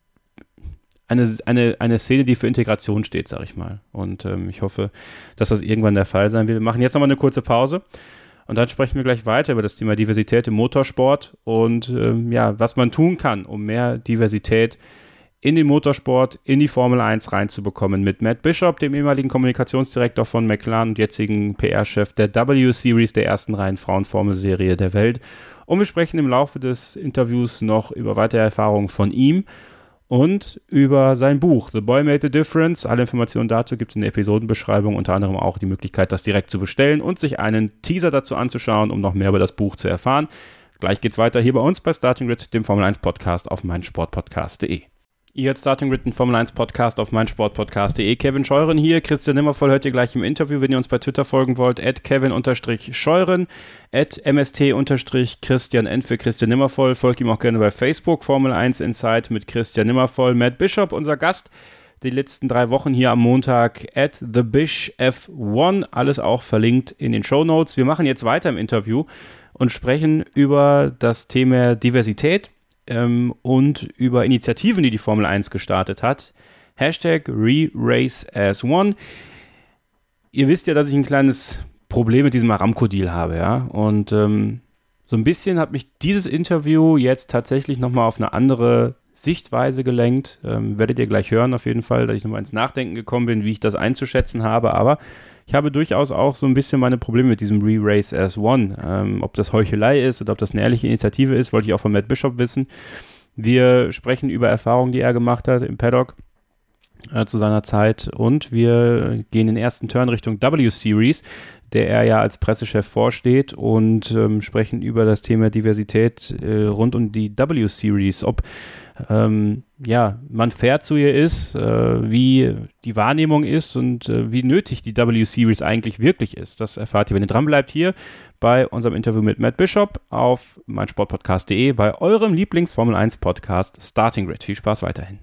eine, eine, eine Szene, die für Integration steht, sag ich mal. Und ähm, ich hoffe, dass das irgendwann der Fall sein wird. Wir machen jetzt nochmal eine kurze Pause und dann sprechen wir gleich weiter über das Thema Diversität im Motorsport und ähm, ja, was man tun kann, um mehr Diversität in den Motorsport, in die Formel eins reinzubekommen mit Matt Bishop, dem ehemaligen Kommunikationsdirektor von McLaren und jetzigen P R-Chef der W-Series, der ersten reinen Frauenformelserie der Welt. Und wir sprechen im Laufe des Interviews noch über weitere Erfahrungen von ihm und über sein Buch The Boy Made the Difference. Alle Informationen dazu gibt es in der Episodenbeschreibung, unter anderem auch die Möglichkeit, das direkt zu bestellen und sich einen Teaser dazu anzuschauen, um noch mehr über das Buch zu erfahren. Gleich geht's weiter hier bei uns bei Starting Grid, dem Formel eins Podcast auf meinsportpodcast punkt de. Ihr hört Starting Grid, den Formel eins Podcast auf meinsportpodcast punkt de. Kevin Scheuren hier. Christian Nimmervoll hört ihr gleich im Interview. Wenn ihr uns bei Twitter folgen wollt, at kevin-scheuren, at mst-christian n für Christian Nimmervoll. Folgt ihm auch gerne bei Facebook, Formel eins Insight mit Christian Nimmervoll. Matt Bishop, unser Gast, die letzten drei Wochen hier am Montag, at thebish f eins. Alles auch verlinkt in den Shownotes. Wir machen jetzt weiter im Interview und sprechen über das Thema Diversität. Ähm, und über Initiativen, die die Formel eins gestartet hat. Hashtag ReRaceAsOne. Ihr wisst ja, dass ich ein kleines Problem mit diesem Aramco-Deal habe, ja. Und ähm, so ein bisschen hat mich dieses Interview jetzt tatsächlich nochmal auf eine andere Sichtweise gelenkt. Ähm, werdet ihr gleich hören auf jeden Fall, dass ich nochmal ins Nachdenken gekommen bin, wie ich das einzuschätzen habe. Aber ich habe durchaus auch so ein bisschen meine Probleme mit diesem ReRaceAsOne. Ähm, ob das Heuchelei ist oder ob das eine ehrliche Initiative ist, wollte ich auch von Matt Bishop wissen. Wir sprechen über Erfahrungen, die er gemacht hat im Paddock äh, zu seiner Zeit und wir gehen den ersten Turn Richtung W-Series, der er ja als Pressechef vorsteht und ähm, sprechen über das Thema Diversität äh, rund um die W-Series, ob ähm, ja, man fair zu ihr ist, äh, wie die Wahrnehmung ist und äh, wie nötig die W-Series eigentlich wirklich ist. Das erfahrt ihr, wenn ihr dran bleibt, hier bei unserem Interview mit Matt Bishop auf meinsportpodcast punkt de, bei eurem Lieblings-Formel eins Podcast Starting Grid. Viel Spaß weiterhin.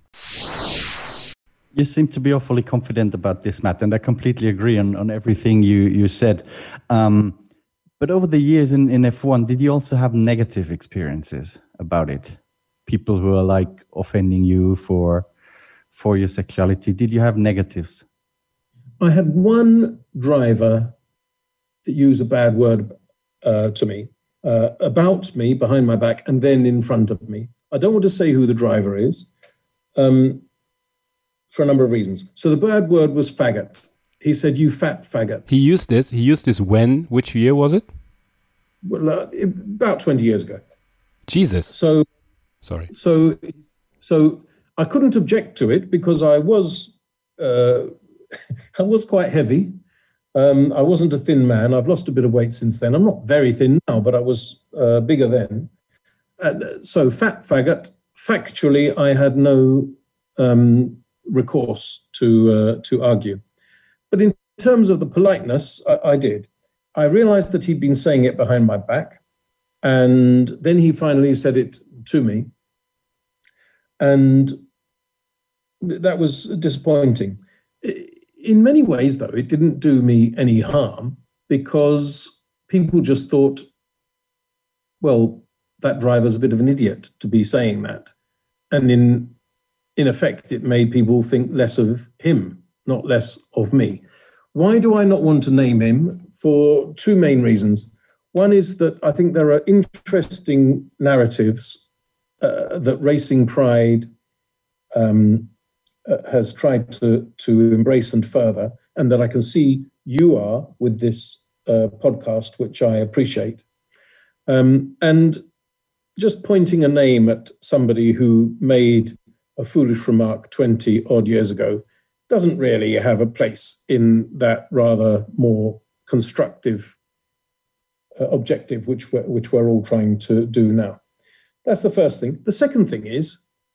You seem to be awfully confident about this, Matt, and I completely agree on, on everything you, you said. Um, but over the years in, in F one, did you also have negative experiences about it? People who are like offending you for for your sexuality. Did you have negatives? I had one driver that used a bad word uh, to me, uh, about me, behind my back, and then in front of me. I don't want to say who the driver is, um, for a number of reasons. So the bad word was faggot. He said, "You fat faggot." He used this. He used this when? Which year was it? Well, uh, about twenty years ago. Jesus. So. Sorry. So, so I couldn't object to it because I was, uh, I was quite heavy. Um, I wasn't a thin man. I've lost a bit of weight since then. I'm not very thin now, but I was uh, bigger then. And so, fat faggot. Factually, I had no um, recourse to uh, to argue. But in terms of the politeness, I, I did. I realized that he'd been saying it behind my back, and then he finally said it to me, and that was disappointing. In many ways, though, it didn't do me any harm because people just thought, well, that driver's a bit of an idiot to be saying that. And in in effect, it made people think less of him, not less of me. Why do I not want to name him? For two main reasons. One is that I think there are interesting narratives uh, that Racing Pride um, uh, has tried to, to embrace and further, and that I can see you are with this uh, podcast, which I appreciate. Um, and just pointing a name at somebody who made a foolish remark twenty odd years ago doesn't really have a place in that rather more constructive uh, objective, which we're, which we're all trying to do now. That's the first thing. The second thing is,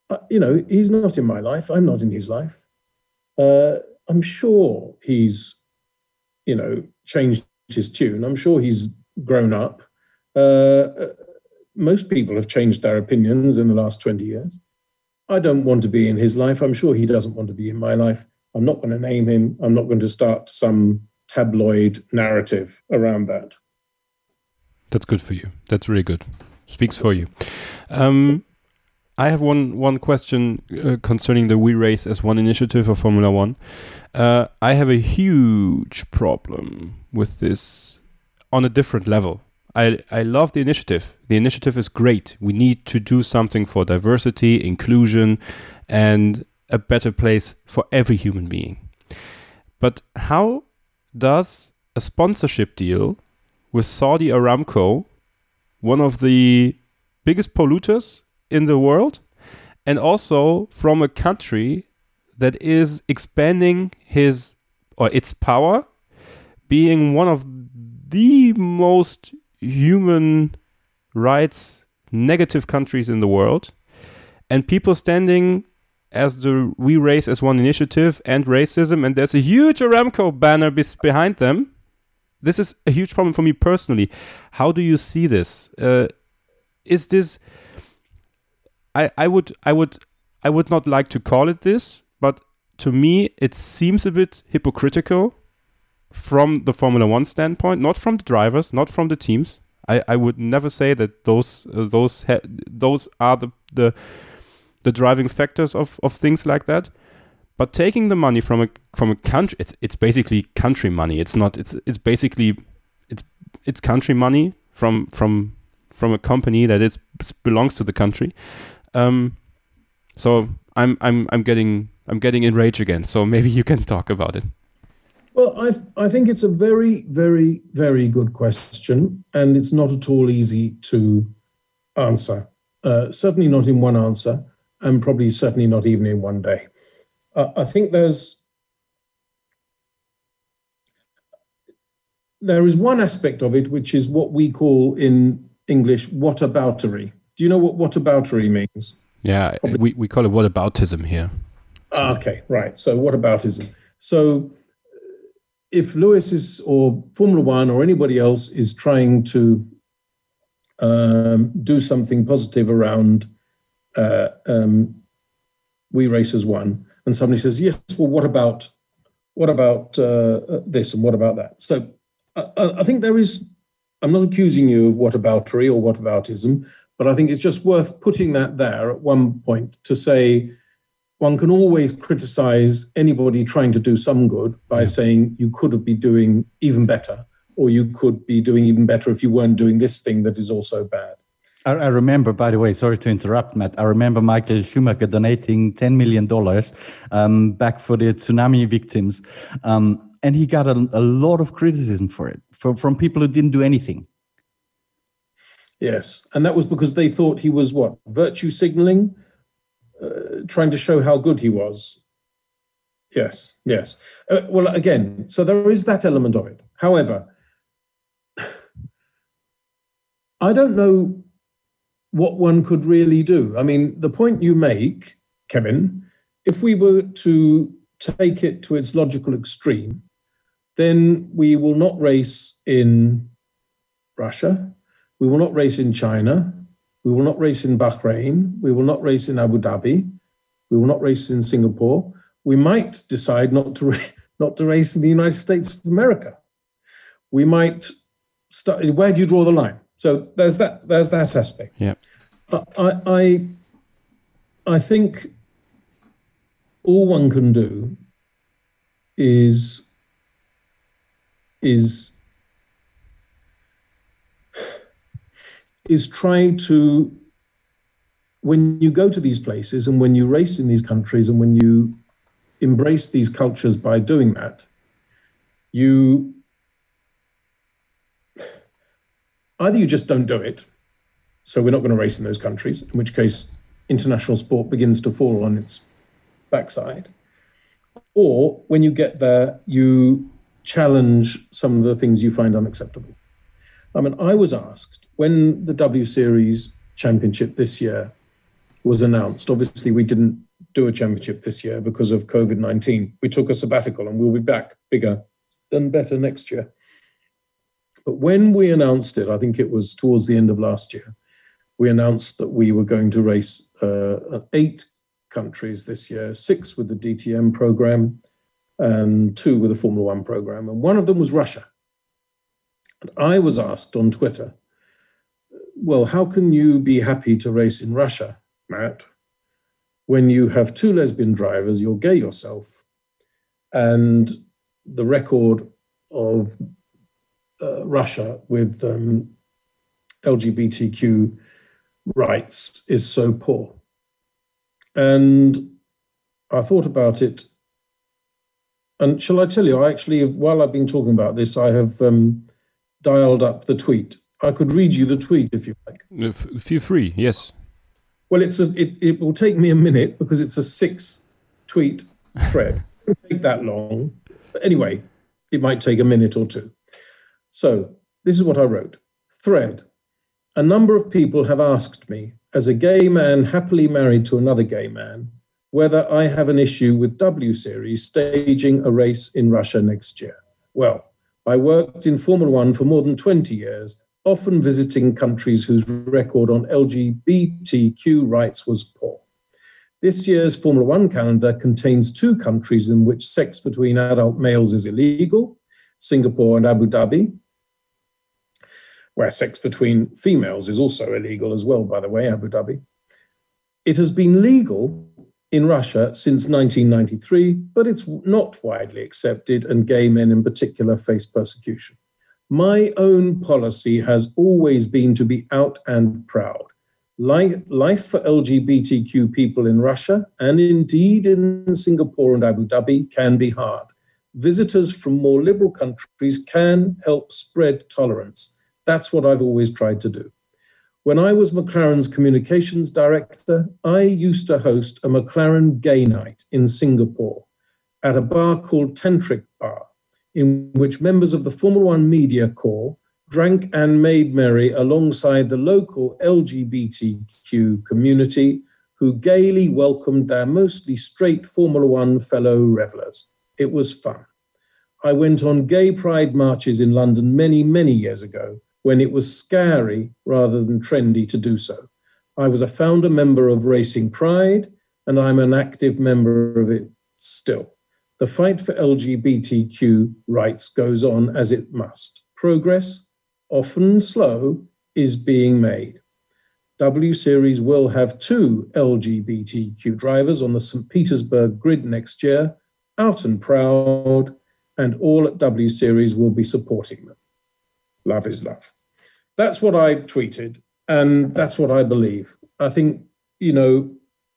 uh, you know, he's not in my life. I'm not in his life. Uh, I'm sure he's, you know, changed his tune. I'm sure he's grown up. Uh, most people have changed their opinions in the last twenty years. I don't want to be in his life. I'm sure he doesn't want to be in my life. I'm not going to name him. I'm not going to start some tabloid narrative around that. That's good for you. That's really good. Speaks for you. Um, I have one one question uh, concerning the We Race as One initiative of Formula One. Uh, I have a huge problem with this on a different level. I, I love the initiative. The initiative is great. We need to do something for diversity, inclusion, and a better place for every human being. But how does a sponsorship deal with Saudi Aramco, one of the biggest polluters in the world, and also from a country that is expanding his or its power, being one of the most human rights negative countries in the world, and people standing as the We Race as One initiative and racism, and there's a huge Aramco banner be- behind them. This is a huge problem for me personally. How do you see this? Uh, is this? I, I would I would I would not like to call it this, but to me it seems a bit hypocritical from the Formula One standpoint, not from the drivers, not from the teams. I, I would never say that those uh, those ha- those are the, the the driving factors of, of things like that. But taking the money from a from a country, it's it's basically country money. It's not. It's it's basically it's it's country money from from from a company that is belongs to the country. Um, so I'm I'm I'm getting I'm getting enraged again. So maybe you can talk about it. Well, I I think it's a very, very, very good question, and it's not at all easy to answer. Uh, certainly not in one answer, and probably certainly not even in one day. Uh, I think there's there is one aspect of it which is what we call in English whataboutery. Do you know what whataboutery means? Yeah, probably. we we call it whataboutism here. Ah, okay, right. So whataboutism. So if Lewis is, or Formula One or anybody else is trying to um, do something positive around uh, um, We Race as One, and somebody says, yes, well, what about what about uh, this and what about that? So I, I think there is, I'm not accusing you of whataboutery or whataboutism, but I think it's just worth putting that there at one point to say, one can always criticize anybody trying to do some good by yeah. saying you could have been doing even better, or you could be doing even better if you weren't doing this thing that is also bad. I, I remember, by the way, sorry to interrupt, Matt. I remember Michael Schumacher donating ten million dollars um, back for the tsunami victims. Um, and he got a, a lot of criticism for it from, from people who didn't do anything. Yes. And that was because they thought he was what? Virtue signaling? Uh, trying to show how good he was. Yes, yes. Uh, well, again, so there is that element of it. However, I don't know what one could really do. I mean, the point you make, Kevin, if we were to take it to its logical extreme, then we will not race in Russia, we will not race in China, we will not race in Bahrain. We will not race in Abu Dhabi. We will not race in Singapore. We might decide not to ra- not to race in the United States of America. We might start. Where do you draw the line? So there's that. There's that aspect. Yeah. I I I think all one can do is is. is try to, when you go to these places and when you race in these countries and when you embrace these cultures by doing that, you, either you just don't do it, so we're not going to race in those countries, in which case international sport begins to fall on its backside, or when you get there, you challenge some of the things you find unacceptable. I mean, I was asked when the W Series Championship this year was announced. Obviously, we didn't do a championship this year because of COVID nineteen. We took a sabbatical and we'll be back bigger and better next year. But when we announced it, I think it was towards the end of last year, we announced that we were going to race uh, eight countries this year, six with the D T M program and two with the Formula One program. And one of them was Russia. And I was asked on Twitter, well, how can you be happy to race in Russia, Matt, when you have two lesbian drivers, you're gay yourself, and the record of uh, Russia with um, L G B T Q rights is so poor? And I thought about it. And shall I tell you, I actually, while I've been talking about this, I have um, dialed up the tweet. I could read you the tweet if you like. F- feel free, yes. Well, it's a, it, it will take me a minute because it's a six tweet thread. It won't take that long. But anyway, it might take a minute or two. So this is what I wrote. Thread. A number of people have asked me, as a gay man happily married to another gay man, whether I have an issue with W Series staging a race in Russia next year. Well, I worked in Formula One for more than twenty years, often visiting countries whose record on L G B T Q rights was poor. This year's Formula One calendar contains two countries in which sex between adult males is illegal, Singapore and Abu Dhabi, where sex between females is also illegal as well, by the way, Abu Dhabi. It has been legal in Russia since nineteen ninety-three, but it's not widely accepted, and gay men in particular face persecution. My own policy has always been to be out and proud. Life, life for L G B T Q people in Russia, and indeed in Singapore and Abu Dhabi, can be hard. Visitors from more liberal countries can help spread tolerance. That's what I've always tried to do. When I was McLaren's communications director, I used to host a McLaren gay night in Singapore at a bar called Tantric Bar, in which members of the Formula One media corps drank and made merry alongside the local L G B T Q community, who gaily welcomed their mostly straight Formula One fellow revelers. It was fun. I went on gay pride marches in London many, many years ago, when it was scary rather than trendy to do so. I was a founder member of Racing Pride, and I'm an active member of it still. The fight for L G B T Q rights goes on as it must. Progress, often slow, is being made. W Series will have two L G B T Q drivers on the Saint Petersburg grid next year, out and proud, and all at W Series will be supporting them. Love is love. That's what I tweeted, and that's what I believe. I think, you know,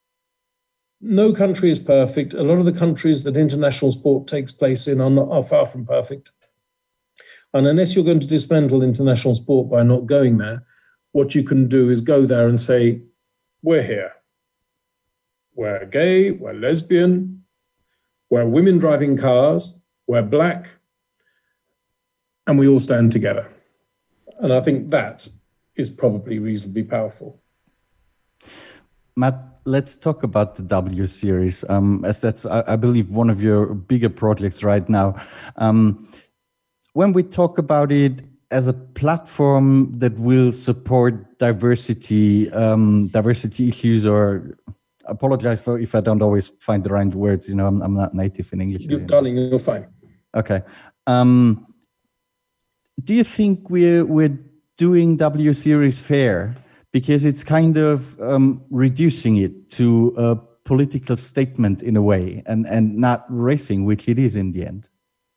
no country is perfect. A lot of the countries that international sport takes place in are, not, are far from perfect. And unless you're going to dismantle international sport by not going there, what you can do is go there and say, we're here. We're gay, we're lesbian, we're women driving cars, we're black, and we all stand together. And I think that is probably reasonably powerful. Matt, let's talk about the W Series, um, as that's, I, I believe, one of your bigger projects right now. Um, when we talk about it as a platform that will support diversity, um, diversity issues, or apologize for if I don't always find the right words. You know, I'm, I'm not native in English. You, darling, you're fine. Okay. Um, do you think we're we're doing W Series fair? Because it's kind of um, reducing it to a political statement in a way, and, and not racing, which it is in the end.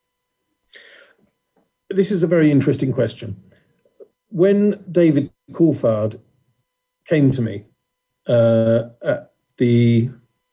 This is a very interesting question. When David Coulthard came to me uh, at the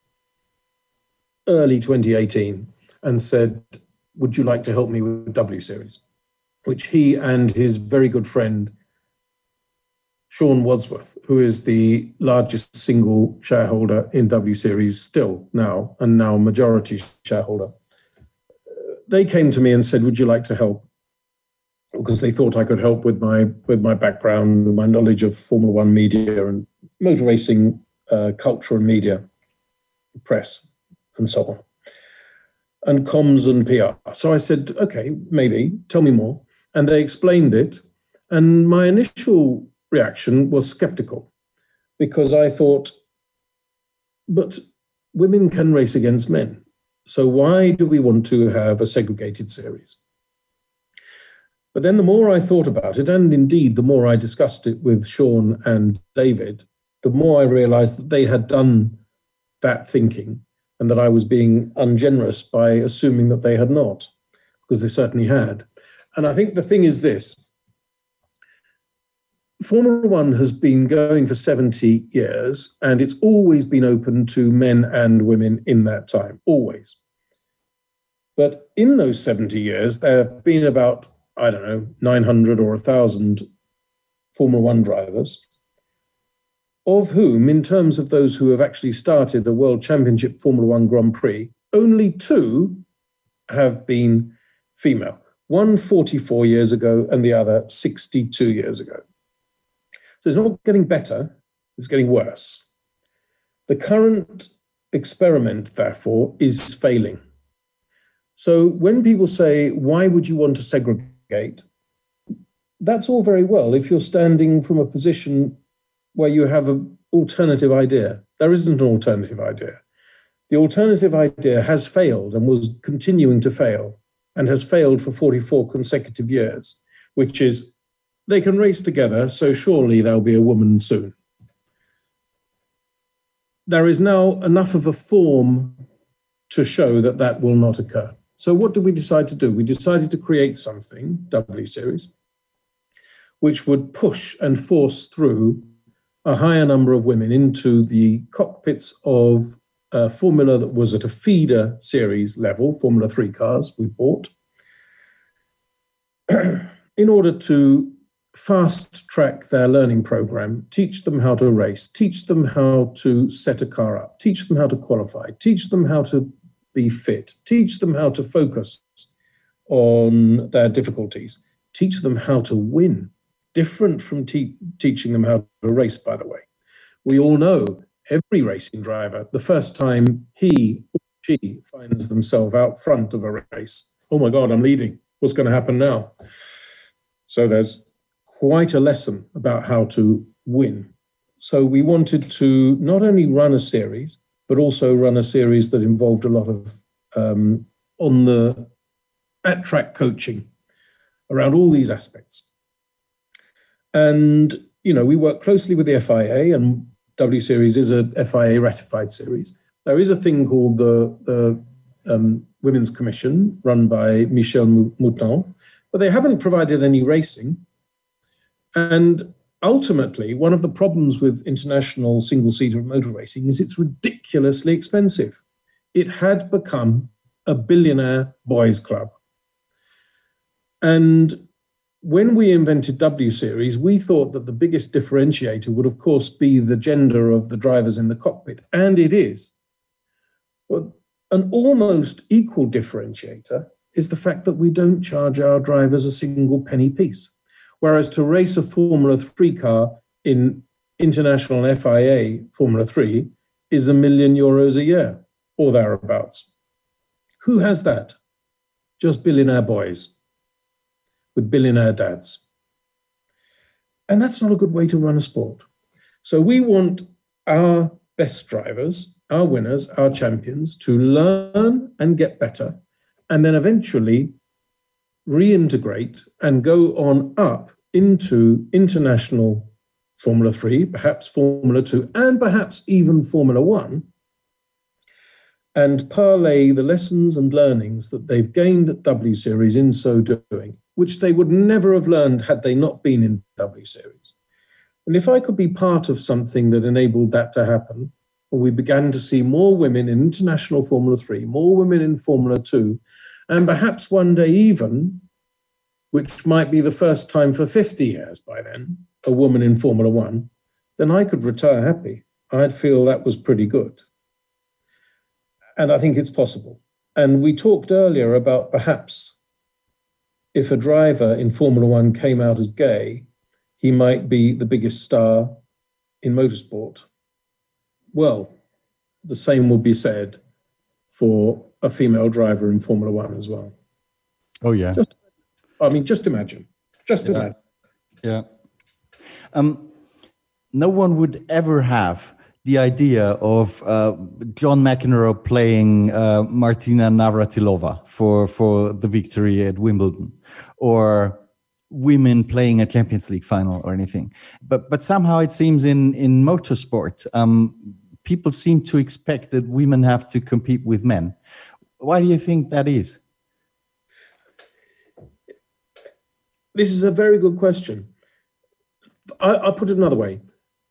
early twenty eighteen and said, would you like to help me with W Series? Which he and his very good friend, Sean Wadsworth, who is the largest single shareholder in W Series still now, and now majority shareholder, they came to me and said, would you like to help? Because they thought I could help with my with my background and my knowledge of Formula One media and motor racing uh, culture and media, press, and so on, and comms and P R. So I said, okay, maybe, tell me more. And they explained it. And my initial reaction was skeptical, because I thought, but women can race against men. So why do we want to have a segregated series? But then the more I thought about it, and indeed the more I discussed it with Sean and David, the more I realized that they had done that thinking and that I was being ungenerous by assuming that they had not, because they certainly had. And I think the thing is this. Formula One has been going for seventy years, and it's always been open to men and women in that time, always. But in those seventy years, there have been about, I don't know, nine hundred or one thousand Formula One drivers, of whom, in terms of those who have actually started a World Championship Formula One Grand Prix, only two have been female. One forty-four years ago and the other sixty-two years ago. So it's not getting better, it's getting worse. The current experiment, therefore, is failing. So when people say, why would you want to segregate? That's all very well if you're standing from a position where you have an alternative idea. There isn't an alternative idea. The alternative idea has failed and was continuing to fail and has failed for forty-four consecutive years, which is they can race together, so surely there'll be a woman soon. There is now enough of a form to show that that will not occur. So what did we decide to do? We decided to create something, W Series, which would push and force through a higher number of women into the cockpits of a formula that was at a feeder series level, Formula Three cars we bought, in order to fast track their learning program, teach them how to race, teach them how to set a car up, teach them how to qualify, teach them how to be fit, teach them how to focus on their difficulties, teach them how to win, different from te- teaching them how to race, by the way. We all know every racing driver, the first time he or she finds themselves out front of a race, oh my God, I'm leading. What's going to happen now? So there's quite a lesson about how to win. So we wanted to not only run a series, but also run a series that involved a lot of um, on the at-track coaching around all these aspects. And, you know, we work closely with the F I A, and W Series is a F I A ratified series. There is a thing called the, the um, Women's Commission run by Michel Mouton, but they haven't provided any racing. And ultimately, one of the problems with international single-seater motor racing is it's ridiculously expensive. It had become a billionaire boys' club. And when we invented W Series, we thought that the biggest differentiator would, of course, be the gender of the drivers in the cockpit, and it is. But an almost equal differentiator is the fact that we don't charge our drivers a single penny piece. Whereas to race a Formula Three car in international F I A Formula Three is a million euros a year, or thereabouts. Who has that? Just billionaire boys with billionaire dads. And that's not a good way to run a sport. So we want our best drivers, our winners, our champions to learn and get better, and then eventually reintegrate and go on up into international Formula Three, perhaps Formula Two, and perhaps even Formula One, and parlay the lessons and learnings that they've gained at W Series in so doing, which they would never have learned had they not been in W Series. And if I could be part of something that enabled that to happen, and we began to see more women in international Formula Three, more women in Formula Two, and perhaps one day even, which might be the first time for fifty years by then, a woman in Formula One, then I could retire happy. I'd feel that was pretty good. And I think it's possible. And we talked earlier about perhaps if a driver in Formula One came out as gay, he might be the biggest star in motorsport. well, the same would be said for a female driver in Formula One as well. Oh, yeah. Just, I mean, just imagine. Just yeah. imagine. Yeah. Um, no one would ever have the idea of uh, John McEnroe playing uh, Martina Navratilova for, for the victory at Wimbledon, or women playing a Champions League final or anything. But but somehow it seems in, in motorsport, um, people seem to expect that women have to compete with men. Why do you think that is? This is a very good question. I, I'll put it another way.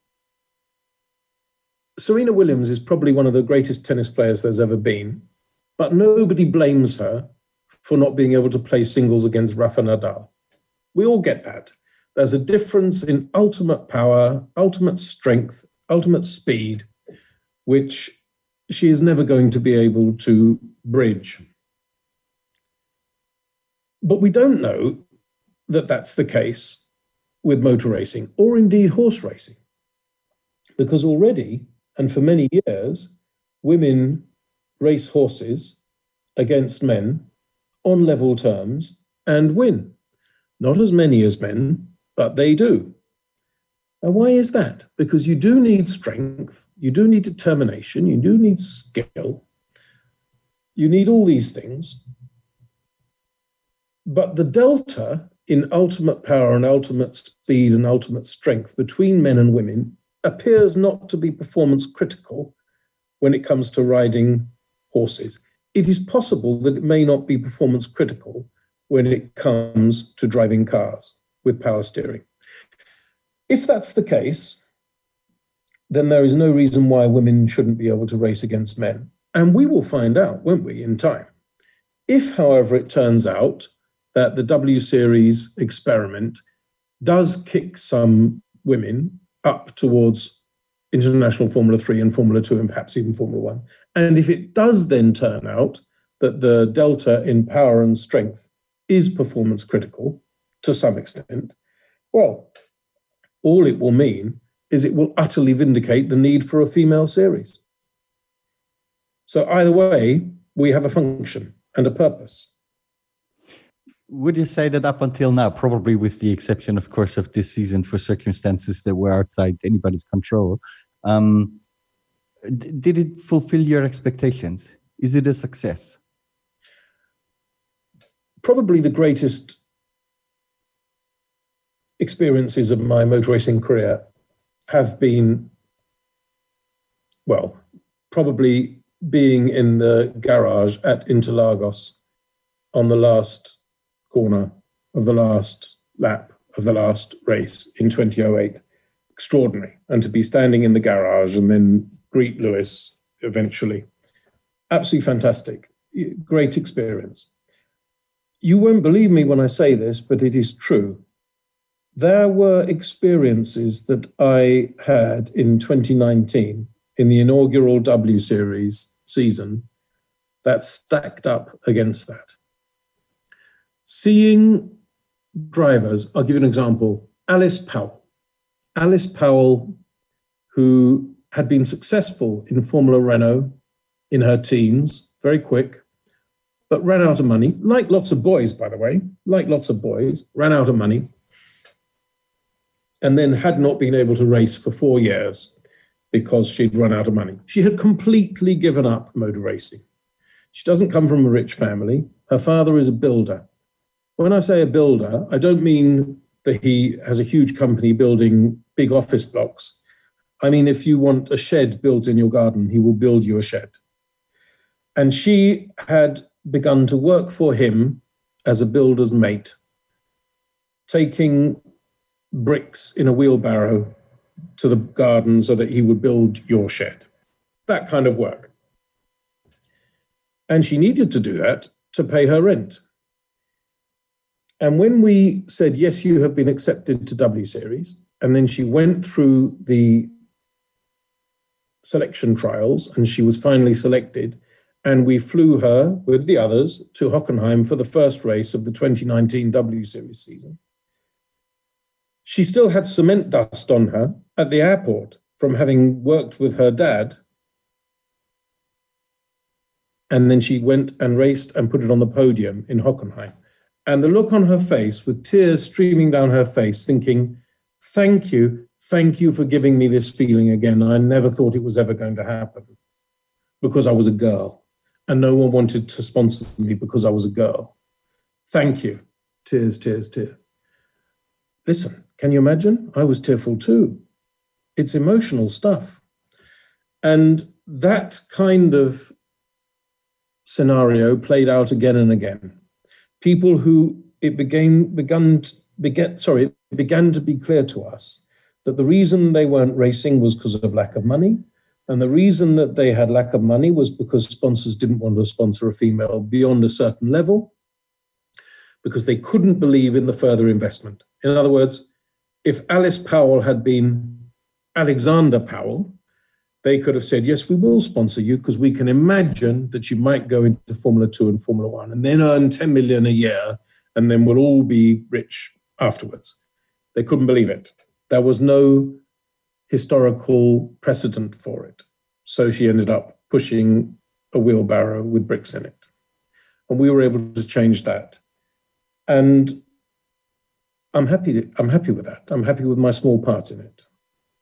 Serena Williams is probably one of the greatest tennis players there's ever been, but nobody blames her for not being able to play singles against Rafa Nadal. We all get that. There's a difference in ultimate power, ultimate strength, ultimate speed, which she is never going to be able to bridge. But we don't know that that's the case with motor racing, or indeed horse racing, because already, and for many years, women race horses against men on level terms and win. Not as many as men, but they do. And why is that? Because you do need strength, you do need determination, you do need skill, you need all these things. But the delta in ultimate power and ultimate speed and ultimate strength between men and women appears not to be performance critical when it comes to riding horses. It is possible that it may not be performance critical when it comes to driving cars with power steering. If that's the case, then there is no reason why women shouldn't be able to race against men. And we will find out, won't we, in time. If, however, it turns out that the W Series experiment does kick some women up towards international Formula three and Formula two and perhaps even Formula one. And if it does then turn out that the delta in power and strength is performance critical to some extent, well, all it will mean is it will utterly vindicate the need for a female series. So either way, we have a function and a purpose. Would you say that up until now, probably with the exception, of course, of this season for circumstances that were outside anybody's control, um, d- did it fulfill your expectations? Is it a success? Probably the greatest experiences of my motor racing career have been, well, probably being in the garage at Interlagos on the last corner of the last lap of the last race in twenty oh eight. Extraordinary. And to be standing in the garage and then greet Lewis eventually. Absolutely fantastic. Great experience. You won't believe me when I say this, but it is true. There were experiences that I had in twenty nineteen in the inaugural W Series season that stacked up against that. Seeing drivers, I'll give you an example, Alice Powell. Alice Powell, who had been successful in Formula Renault in her teens, very quick, but ran out of money, like lots of boys, by the way, like lots of boys, ran out of money, and then had not been able to race for four years because she'd run out of money. She had completely given up motor racing. She doesn't come from a rich family. Her father is a builder. When I say a builder, I don't mean that he has a huge company building big office blocks. I mean, if you want a shed built in your garden, he will build you a shed. And she had begun to work for him as a builder's mate, taking bricks in a wheelbarrow to the garden so that he would build your shed. That kind of work. And she needed to do that to pay her rent. And when we said, yes, you have been accepted to W Series, and then she went through the selection trials and she was finally selected, and we flew her with the others to Hockenheim for the first race of the twenty nineteen W Series season. She still had cement dust on her at the airport from having worked with her dad. And then she went and raced and put it on the podium in Hockenheim. And the look on her face, with tears streaming down her face, thinking, thank you, thank you for giving me this feeling again. I never thought it was ever going to happen because I was a girl and no one wanted to sponsor me because I was a girl. Thank you. Tears, tears, tears. Listen, can you imagine? I was tearful too. It's emotional stuff. And that kind of scenario played out again and again. People who it began, begun, began, sorry, it began to be clear to us that the reason they weren't racing was because of lack of money. And the reason that they had lack of money was because sponsors didn't want to sponsor a female beyond a certain level, because they couldn't believe in the further investment. In other words, if Alice Powell had been Alexander Powell, they could have said, yes, we will sponsor you because we can imagine that you might go into Formula Two and Formula One and then earn ten million a year and then we'll all be rich afterwards. They couldn't believe it. There was no historical precedent for it. So she ended up pushing a wheelbarrow with bricks in it. And we were able to change that. And I'm happy, to, I'm happy with that. I'm happy with my small part in it.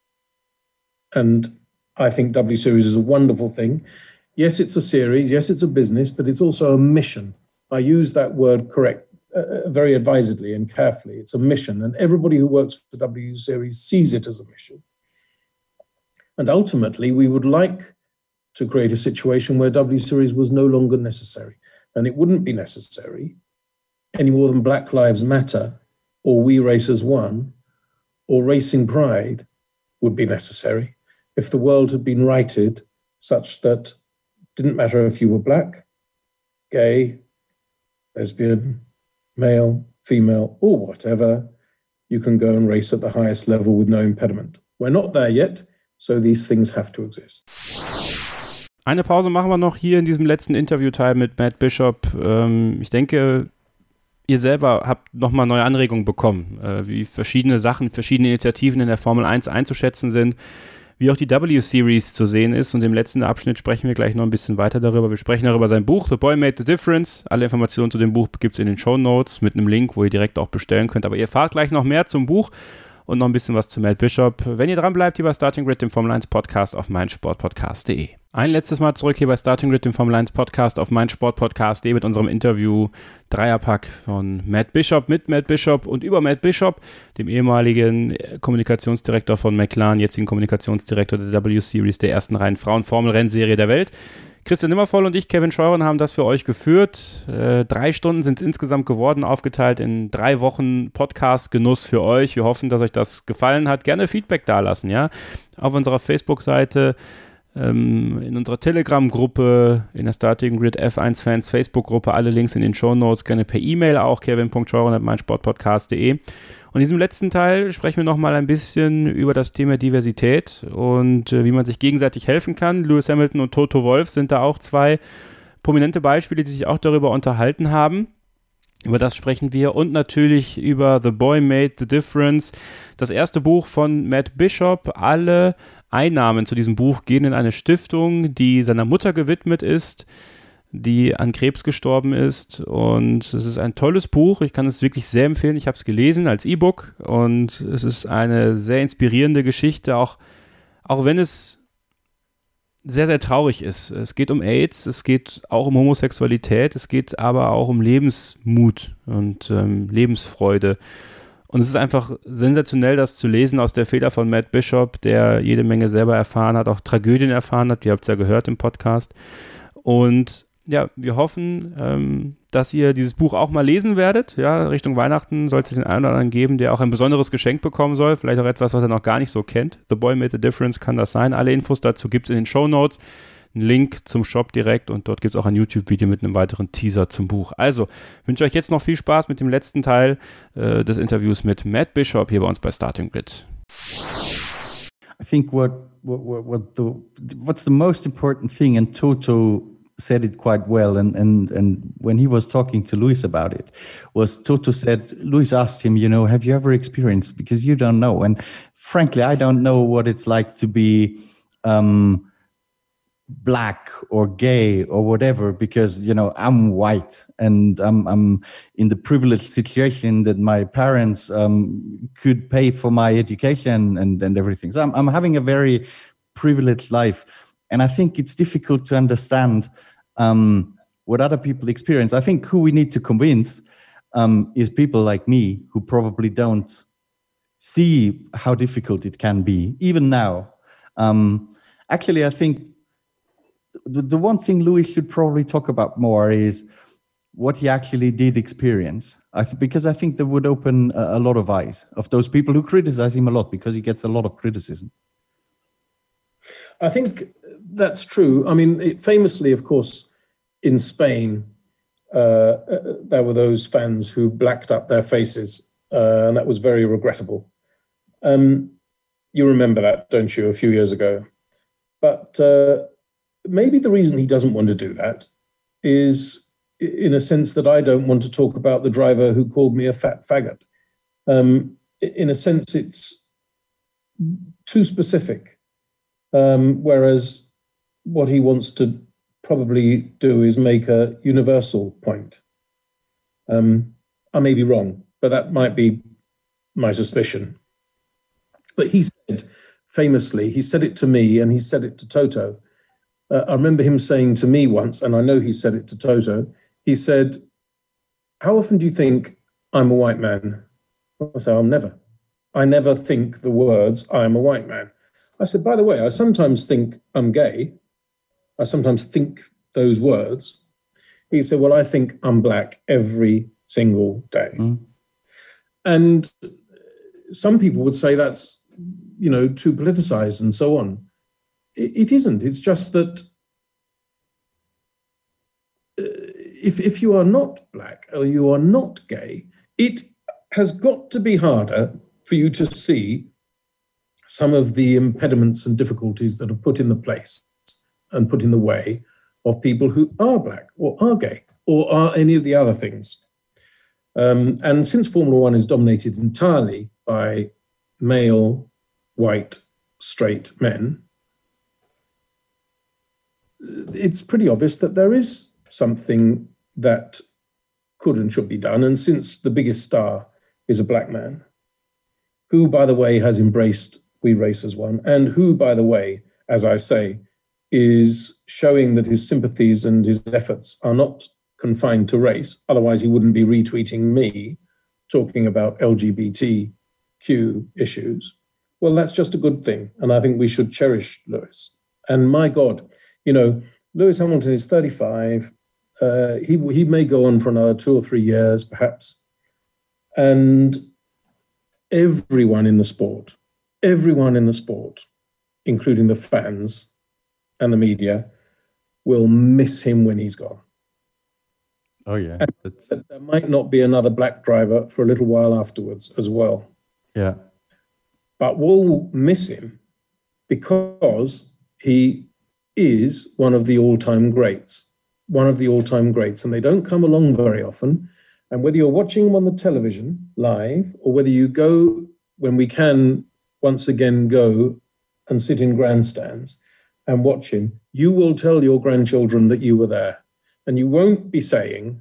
And I think W Series is a wonderful thing. Yes, it's a series. Yes, it's a business, but it's also a mission. I use that word correct, uh, very advisedly and carefully. It's a mission, and everybody who works for W Series sees it as a mission. And ultimately, we would like to create a situation where W Series was no longer necessary, and it wouldn't be necessary any more than Black Lives Matter or We Race as One or Racing Pride would be necessary. If the world had been righted such that it didn't matter if you were black, gay, lesbian, male, female, or whatever, you can go and race at the highest level with no impediment. We're not there yet, so these things have to exist. Eine Pause machen wir noch hier in diesem letzten Interviewteil mit Matt Bishop. Ähm, ich denke, ihr selber habt nochmal neue Anregungen bekommen, äh, wie verschiedene Sachen, verschiedene Initiativen in der Formel eins einzuschätzen sind, wie auch die W-Series zu sehen ist. Und im letzten Abschnitt sprechen wir gleich noch ein bisschen weiter darüber. Wir sprechen darüber sein Buch, The Boy Made the Difference. Alle Informationen zu dem Buch gibt es in den Shownotes mit einem Link, wo ihr direkt auch bestellen könnt. Aber ihr erfahrt gleich noch mehr zum Buch und noch ein bisschen was zu Matt Bishop. Wenn ihr dran bleibt, hier bei Starting Grid, dem Formel eins Podcast auf meinsportpodcast punkt de. Ein letztes Mal zurück hier bei Starting Grid, dem Formel eins Podcast auf meinsportpodcast punkt de mit unserem Interview Dreierpack von Matt Bishop mit Matt Bishop und über Matt Bishop, dem ehemaligen Kommunikationsdirektor von McLaren, jetzigen Kommunikationsdirektor der W-Series, der ersten reinen Frauen-Formel-Rennserie der Welt. Christian Nimmervoll und ich, Kevin Scheuren, haben das für euch geführt. Äh, drei Stunden sind es insgesamt geworden, aufgeteilt in drei Wochen Podcast-Genuss für euch. Wir hoffen, dass euch das gefallen hat. Gerne Feedback dalassen, ja, auf unserer Facebook-Seite, in unserer Telegram-Gruppe, in der Starting Grid F eins Fans Facebook-Gruppe, alle Links in den Shownotes, gerne per E-Mail auch, kevin punkt scheuren at meinsportpodcast punkt de. Und in diesem letzten Teil sprechen wir nochmal ein bisschen über das Thema Diversität und äh, wie man sich gegenseitig helfen kann. Lewis Hamilton und Toto Wolff sind da auch zwei prominente Beispiele, die sich auch darüber unterhalten haben. Über das sprechen wir und natürlich über The Boy Made the Difference, das erste Buch von Matt Bishop. Alle Einnahmen zu diesem Buch gehen in eine Stiftung, die seiner Mutter gewidmet ist, die an Krebs gestorben ist, und es ist ein tolles Buch. Ich kann es wirklich sehr empfehlen. Ich habe es gelesen als E-Book und es ist eine sehr inspirierende Geschichte, auch, auch wenn es sehr, sehr traurig ist. Es geht um AIDS, es geht auch um Homosexualität, es geht aber auch um Lebensmut und ähm, Lebensfreude. Und es ist einfach sensationell, das zu lesen aus der Feder von Matt Bishop, der jede Menge selber erfahren hat, auch Tragödien erfahren hat. Ihr habt es ja gehört im Podcast. Und ja, wir hoffen, ähm, dass ihr dieses Buch auch mal lesen werdet. Ja, Richtung Weihnachten soll es den einen oder anderen geben, der auch ein besonderes Geschenk bekommen soll. Vielleicht auch etwas, was er noch gar nicht so kennt. The Boy Made the Difference kann das sein. Alle Infos dazu gibt es in den Shownotes. Einen Link zum Shop direkt und dort gibt es auch ein YouTube-Video mit einem weiteren Teaser zum Buch. Also, wünsche euch jetzt noch viel Spaß mit dem letzten Teil äh, des Interviews mit Matt Bishop hier bei uns bei Starting Grid. I think what, what, what the, what's the most important thing, and Toto said it quite well, and, and, and when he was talking to Lewis about it, was Toto said, Lewis asked him, you know, have you ever experienced, because you don't know, and frankly, I don't know what it's like to be um, black or gay or whatever, because, you know, I'm white and I'm, I'm in the privileged situation that my parents um, could pay for my education and, and everything. So I'm, I'm having a very privileged life. And I think it's difficult to understand um, what other people experience. I think who we need to convince um, is people like me who probably don't see how difficult it can be, even now. Um, actually, I think the, the one thing Lewis should probably talk about more is what he actually did experience. I th- because I think that would open a, a lot of eyes of those people who criticize him a lot, because he gets a lot of criticism. I think that's true. I mean, it, famously, of course, in Spain, uh, uh, there were those fans who blacked up their faces, uh, and that was very regrettable. Um, you remember that, don't you, a few years ago? But uh, maybe the reason he doesn't want to do that is in a sense that I don't want to talk about the driver who called me a fat faggot. Um, in a sense, it's too specific. Um, whereas what he wants to probably do is make a universal point. Um, I may be wrong, but that might be my suspicion. But he said, famously, he said it to me and he said it to Toto. Uh, I remember him saying to me once, and I know he said it to Toto, he said, "How often do you think I'm a white man?" I said, "I'll never. I never think the words, I'm a white man." I said, "By the way, I sometimes think I'm gay. I sometimes think those words." He said, "Well, I think I'm black every single day." Mm. And some people would say that's, you know, too politicized and so on. It, it isn't. It's just that uh, if, if you are not black or you are not gay, it has got to be harder for you to see some of the impediments and difficulties that are put in the place and put in the way of people who are black or are gay or are any of the other things. Um, and since Formula One is dominated entirely by male, white, straight men, it's pretty obvious that there is something that could and should be done. And since the biggest star is a black man, who, by the way, has embraced We Race as One, and who, by the way, as I say, is showing that his sympathies and his efforts are not confined to race. Otherwise, he wouldn't be retweeting me talking about L G B T Q issues. Well, that's just a good thing. And I think we should cherish Lewis. And my God, you know, Lewis Hamilton is thirty-five. Uh, he, he may go on for another two or three years, perhaps. And everyone in the sport, everyone in the sport, including the fans and the media, will miss him when he's gone. Oh, yeah. That's... There might not be another black driver for a little while afterwards as well. Yeah. But we'll miss him because he is one of the all-time greats, one of the all-time greats, and they don't come along very often. And whether you're watching him on the television live or whether you go, when we can once again go and sit in grandstands and watch him, you will tell your grandchildren that you were there. And you won't be saying,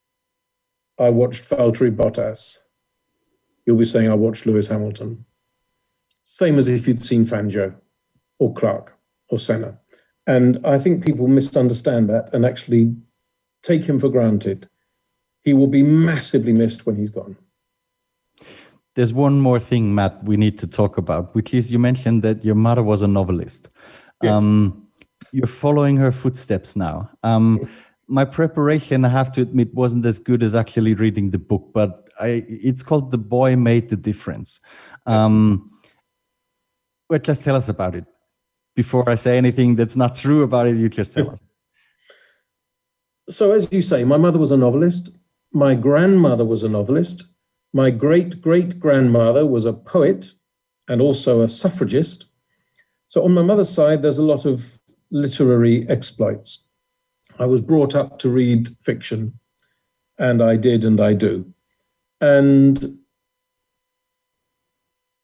I watched Valtteri Bottas. You'll be saying, I watched Lewis Hamilton. Same as if you'd seen Fangio or Clark or Senna. And I think people misunderstand that and actually take him for granted. He will be massively missed when he's gone. There's one more thing, Matt, we need to talk about, which is you mentioned that your mother was a novelist. Yes. Um, you're following her footsteps now. Um, my preparation, I have to admit, wasn't as good as actually reading the book, but I, it's called The Boy Made the Difference. Um, yes. Well, just tell us about it. Before I say anything that's not true about it, you just tell us. So as you say, my mother was a novelist. My grandmother was a novelist. My great-great-grandmother was a poet and also a suffragist. So on my mother's side, there's a lot of literary exploits. I was brought up to read fiction, and I did and I do. And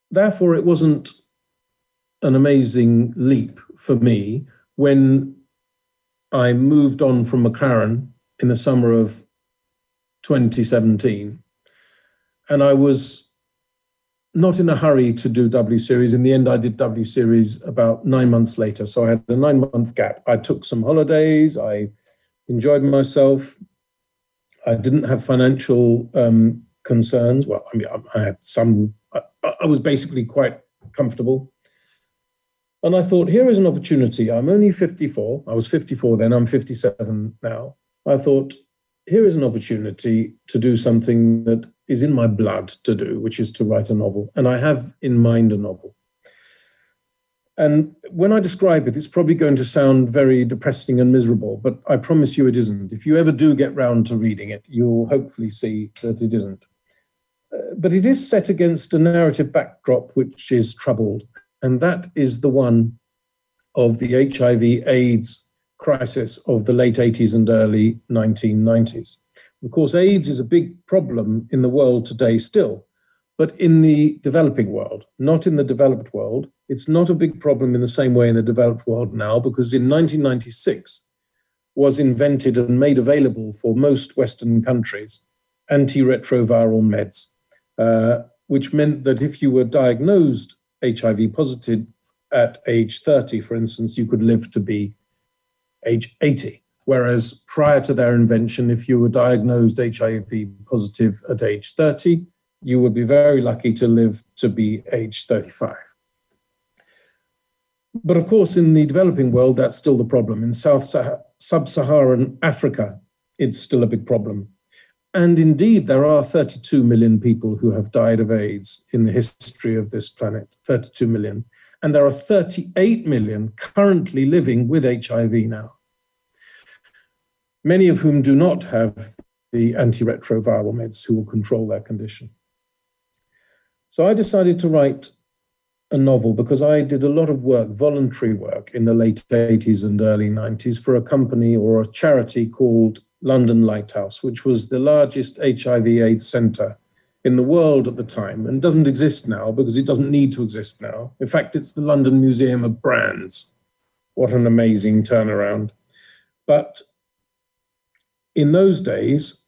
therefore, it wasn't an amazing leap for me when I moved on from McLaren in the summer of twenty seventeen. And I was not in a hurry to do W Series. In the end, I did W Series about nine months later. So I had a nine-month gap. I took some holidays. I enjoyed myself. I didn't have financial um, concerns. Well, I mean, I had some. I, I was basically quite comfortable. And I thought, here is an opportunity. I'm only fifty-four. I was fifty-four then. I'm fifty-seven now. I thought, here is an opportunity to do something that is in my blood to do, which is to write a novel. And I have in mind a novel. And when I describe it, it's probably going to sound very depressing and miserable, but I promise you it isn't. If you ever do get round to reading it, you'll hopefully see that it isn't. Uh, but it is set against a narrative backdrop which is troubled. And that is the one of the H I V AIDS crisis of the late eighties and early nineteen nineties. Of course, AIDS is a big problem in the world today still, but in the developing world, not in the developed world. It's not a big problem in the same way in the developed world now, because in nineteen ninety-six was invented and made available for most Western countries antiretroviral meds, uh, which meant that if you were diagnosed H I V positive at age thirty, for instance, you could live to be age eighty. Whereas prior to their invention, if you were diagnosed H I V positive at age thirty, you would be very lucky to live to be age thirty-five. But of course, in the developing world, that's still the problem. In South Sub-Saharan Africa, it's still a big problem. And indeed, there are thirty-two million people who have died of AIDS in the history of this planet, thirty-two million. And there are thirty-eight million currently living with H I V now, many of whom do not have the antiretroviral meds who will control their condition. So I decided to write a novel because I did a lot of work, voluntary work, in the late eighties and early nineties for a company or a charity called London Lighthouse, which was the largest H I V AIDS centre in the world at the time, and doesn't exist now because it doesn't need to exist now. In fact, it's the London Museum of Brands. What an amazing turnaround. But in those days,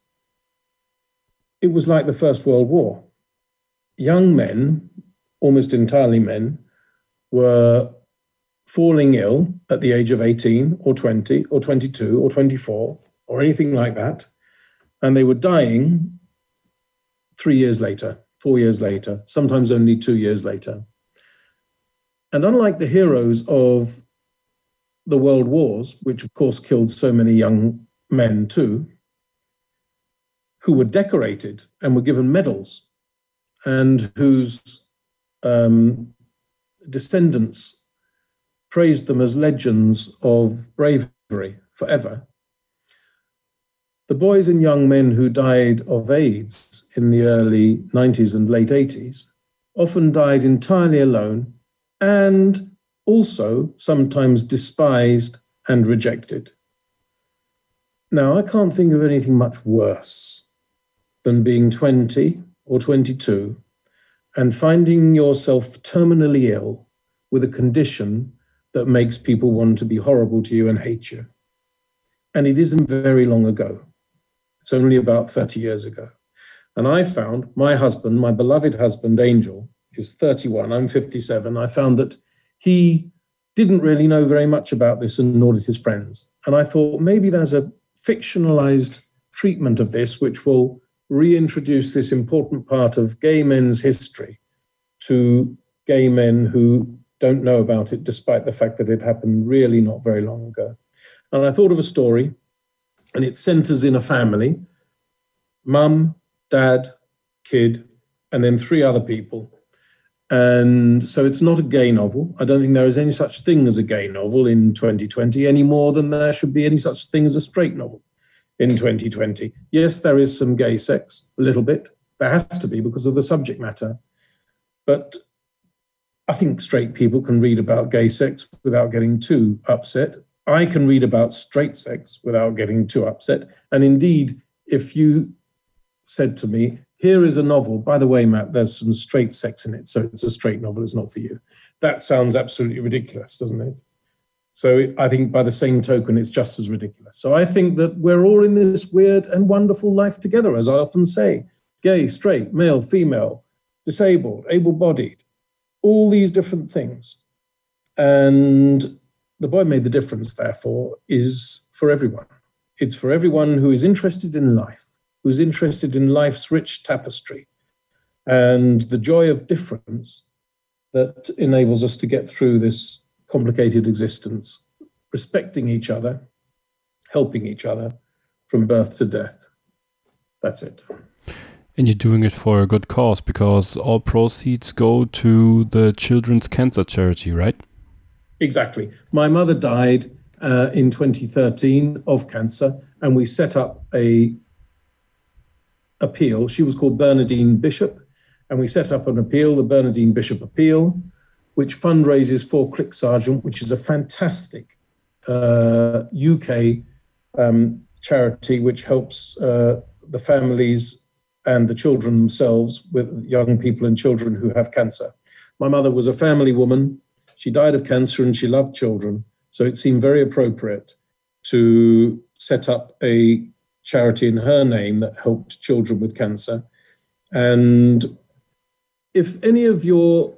it was like the First World War. Young men, almost entirely men, were falling ill at the age of eighteen or twenty or twenty-two or twenty-four or anything like that. And they were dying three years later, four years later, sometimes only two years later. And unlike the heroes of the world wars, which of course killed so many young men too, who were decorated and were given medals, and whose um, descendants praised them as legends of bravery forever. The boys and young men who died of AIDS in the early nineties and late eighties often died entirely alone and also sometimes despised and rejected. Now, I can't think of anything much worse than being twenty or twenty-two and finding yourself terminally ill with a condition that makes people want to be horrible to you and hate you. And it isn't very long ago. It's only about thirty years ago. And I found my husband, my beloved husband, Angel, is thirty-one, I'm fifty-seven. I found that he didn't really know very much about this, and nor did his friends. And I thought maybe there's a fictionalized treatment of this which will reintroduce this important part of gay men's history to gay men who don't know about it, despite the fact that it happened really not very long ago. And I thought of a story, and it centers in a family, mum, dad, kid, and then three other people. And so it's not a gay novel. I don't think there is any such thing as a gay novel in twenty twenty, any more than there should be any such thing as a straight novel in twenty twenty. Yes, there is some gay sex, a little bit. There has to be because of the subject matter. But I think straight people can read about gay sex without getting too upset. I can read about straight sex without getting too upset. And indeed, if you said to me, here is a novel. By the way, Matt, there's some straight sex in it, so it's a straight novel. It's not for you. That sounds absolutely ridiculous, doesn't it? So I think by the same token, it's just as ridiculous. So I think that we're all in this weird and wonderful life together, as I often say, gay, straight, male, female, disabled, able-bodied, all these different things. And The Boy Made the Difference, therefore, is for everyone. It's for everyone who is interested in life, who's interested in life's rich tapestry and the joy of difference that enables us to get through this complicated existence, respecting each other, helping each other from birth to death. That's it. And you're doing it for a good cause, because all proceeds go to the Children's Cancer Charity, right? Exactly. My mother died uh, in twenty thirteen of cancer, and we set up a appeal. She was called Bernadine Bishop, and we set up an appeal, the Bernadine Bishop Appeal, which fundraises for Click Sergeant, which is a fantastic uh, U K um, charity which helps uh, the families and the children themselves with young people and children who have cancer. My mother was a family woman. She died of cancer and she loved children. So it seemed very appropriate to set up a charity in her name that helped children with cancer. And if any of your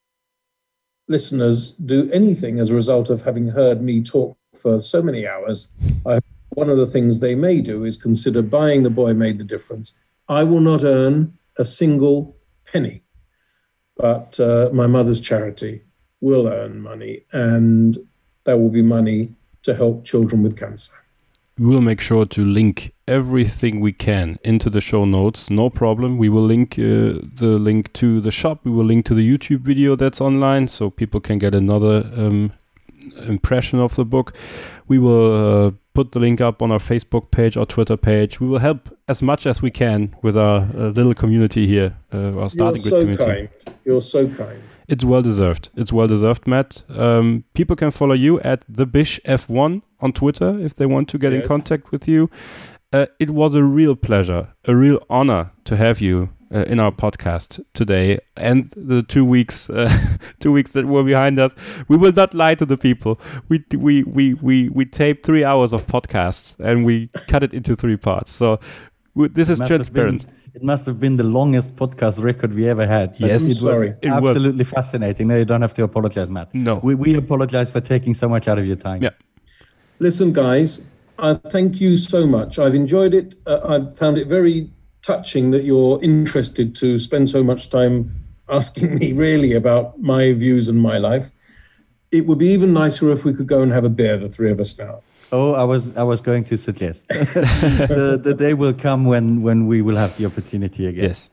listeners do anything as a result of having heard me talk for so many hours, I, one of the things they may do is consider buying The Boy Made the Difference. I will not earn a single penny, but uh, my mother's charity will earn money, and there will be money to help children with cancer. We will make sure to link everything we can into the show notes. No problem. We will link uh, the link to the shop. We will link to the YouTube video that's online, so people can get another um, impression of the book. We will uh, put the link up on our Facebook page, our Twitter page. We will help as much as we can with our uh, little community here, uh, our starting You're so good community. kind. You're so kind. It's well deserved. It's well deserved, Matt. Um, people can follow you at the Bish F one on Twitter if they want to get yes. in contact with you. Uh, it was a real pleasure, a real honor to have you uh, in our podcast today, and the two weeks, uh, two weeks that were behind us. We will not lie to the people. We we we we we taped three hours of podcasts and we cut it into three parts. So w- this is transparent. It must have been the longest podcast record we ever had. Yes, it was sorry. It absolutely was. fascinating. No, you don't have to apologize, Matt. No. We, we apologize for taking so much out of your time. Yeah. Listen, guys, I thank you so much. I've enjoyed it. Uh, I found it very touching that you're interested to spend so much time asking me really about my views and my life. It would be even nicer if we could go and have a beer, the three of us now. Oh, I was I was going to suggest. the, the day will come when, when we will have the opportunity again. Yes.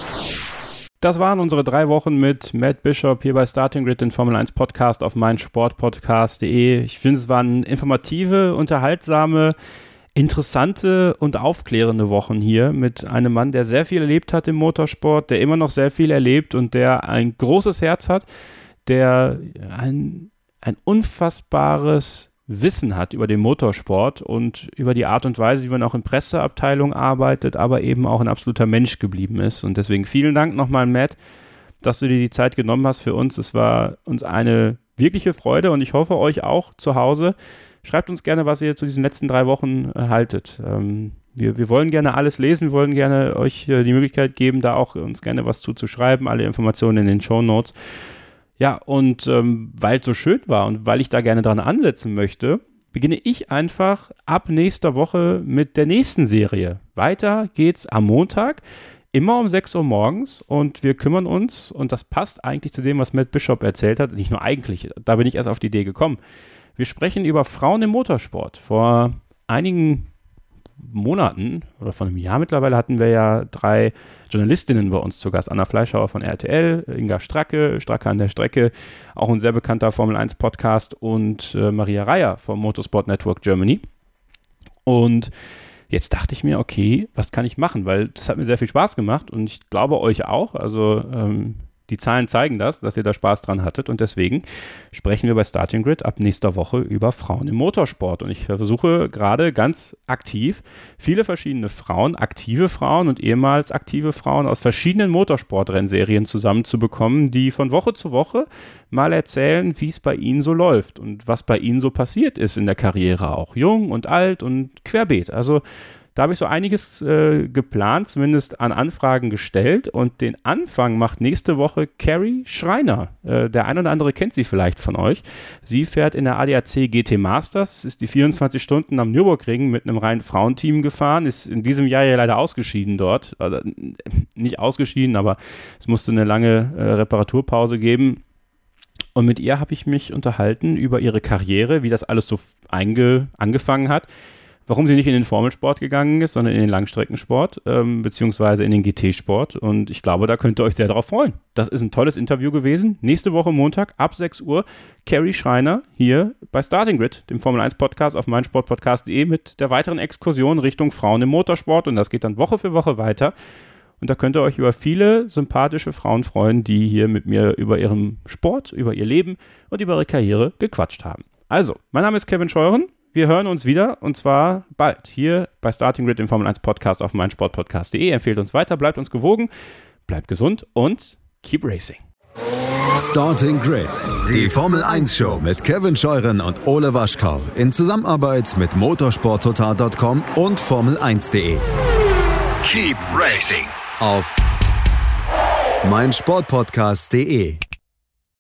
Das waren unsere drei Wochen mit Matt Bishop hier bei Starting Grid, den Formel eins Podcast auf meinsportpodcast punkt de. Ich finde, es waren informative, unterhaltsame, interessante und aufklärende Wochen hier mit einem Mann, der sehr viel erlebt hat im Motorsport, der immer noch sehr viel erlebt und der ein großes Herz hat, der ein, ein unfassbares Wissen hat über den Motorsport und über die Art und Weise, wie man auch in Presseabteilungen arbeitet, aber eben auch ein absoluter Mensch geblieben ist. Und deswegen vielen Dank nochmal, Matt, dass du dir die Zeit genommen hast für uns. Es war uns eine wirkliche Freude und ich hoffe, euch auch zu Hause. Schreibt uns gerne, was ihr zu diesen letzten drei Wochen äh, haltet. Ähm, wir, wir wollen gerne alles lesen, wir wollen gerne euch äh, die Möglichkeit geben, da auch uns gerne was zuzuschreiben. Alle Informationen in den Shownotes. Ja, und ähm, weil es so schön war und weil ich da gerne dran ansetzen möchte, beginne ich einfach ab nächster Woche mit der nächsten Serie. Weiter geht's am Montag, immer um sechs Uhr morgens und wir kümmern uns, und das passt eigentlich zu dem, was Matt Bishop erzählt hat, nicht nur eigentlich, da bin ich erst auf die Idee gekommen. Wir sprechen über Frauen im Motorsport. Vor einigen Monaten oder vor einem Jahr mittlerweile hatten wir ja drei Journalistinnen bei uns zu Gast. Anna Fleischhauer von R T L, Inga Stracke, Stracke an der Strecke, auch ein sehr bekannter Formel eins Podcast, und äh, Maria Reier vom Motorsport Network Germany. Und jetzt dachte ich mir, okay, was kann ich machen? Weil das hat mir sehr viel Spaß gemacht und ich glaube euch auch. Also ähm, Die Zahlen zeigen das, dass ihr da Spaß dran hattet und deswegen sprechen wir bei Starting Grid ab nächster Woche über Frauen im Motorsport und ich versuche gerade ganz aktiv viele verschiedene Frauen, aktive Frauen und ehemals aktive Frauen aus verschiedenen Motorsportrennserien zusammenzubekommen, die von Woche zu Woche mal erzählen, wie es bei ihnen so läuft und was bei ihnen so passiert ist in der Karriere, auch jung und alt und querbeet. Also da habe ich so einiges äh, geplant, zumindest an Anfragen gestellt und den Anfang macht nächste Woche Carrie Schreiner. Äh, der ein oder andere kennt sie vielleicht von euch. Sie fährt in der A D A C G T Masters, ist die vierundzwanzig Stunden am Nürburgring mit einem reinen Frauenteam gefahren, ist in diesem Jahr ja leider ausgeschieden dort. Also, nicht ausgeschieden, aber es musste eine lange äh, Reparaturpause geben. Und mit ihr habe ich mich unterhalten über ihre Karriere, wie das alles so einge- angefangen hat. Warum sie nicht in den Formelsport gegangen ist, sondern in den Langstreckensport, ähm, beziehungsweise in den G T-Sport. Und ich glaube, da könnt ihr euch sehr darauf freuen. Das ist ein tolles Interview gewesen. Nächste Woche Montag ab sechs Uhr Carrie Schreiner hier bei Starting Grid, dem Formel eins Podcast auf meinsportpodcast punkt de mit der weiteren Exkursion Richtung Frauen im Motorsport. Und das geht dann Woche für Woche weiter. Und da könnt ihr euch über viele sympathische Frauen freuen, die hier mit mir über ihren Sport, über ihr Leben und über ihre Karriere gequatscht haben. Also, mein Name ist Kevin Scheuren. Wir hören uns wieder und zwar bald hier bei Starting Grid, dem Formel eins Podcast auf meinsportpodcast punkt de. Empfehlt uns weiter, bleibt uns gewogen, bleibt gesund und keep racing. Starting Grid, die Formel eins Show mit Kevin Scheuren und Ole Waschkau in Zusammenarbeit mit motorsport total punkt com und formel eins punkt de. Keep racing Auf meinsportpodcast punkt de.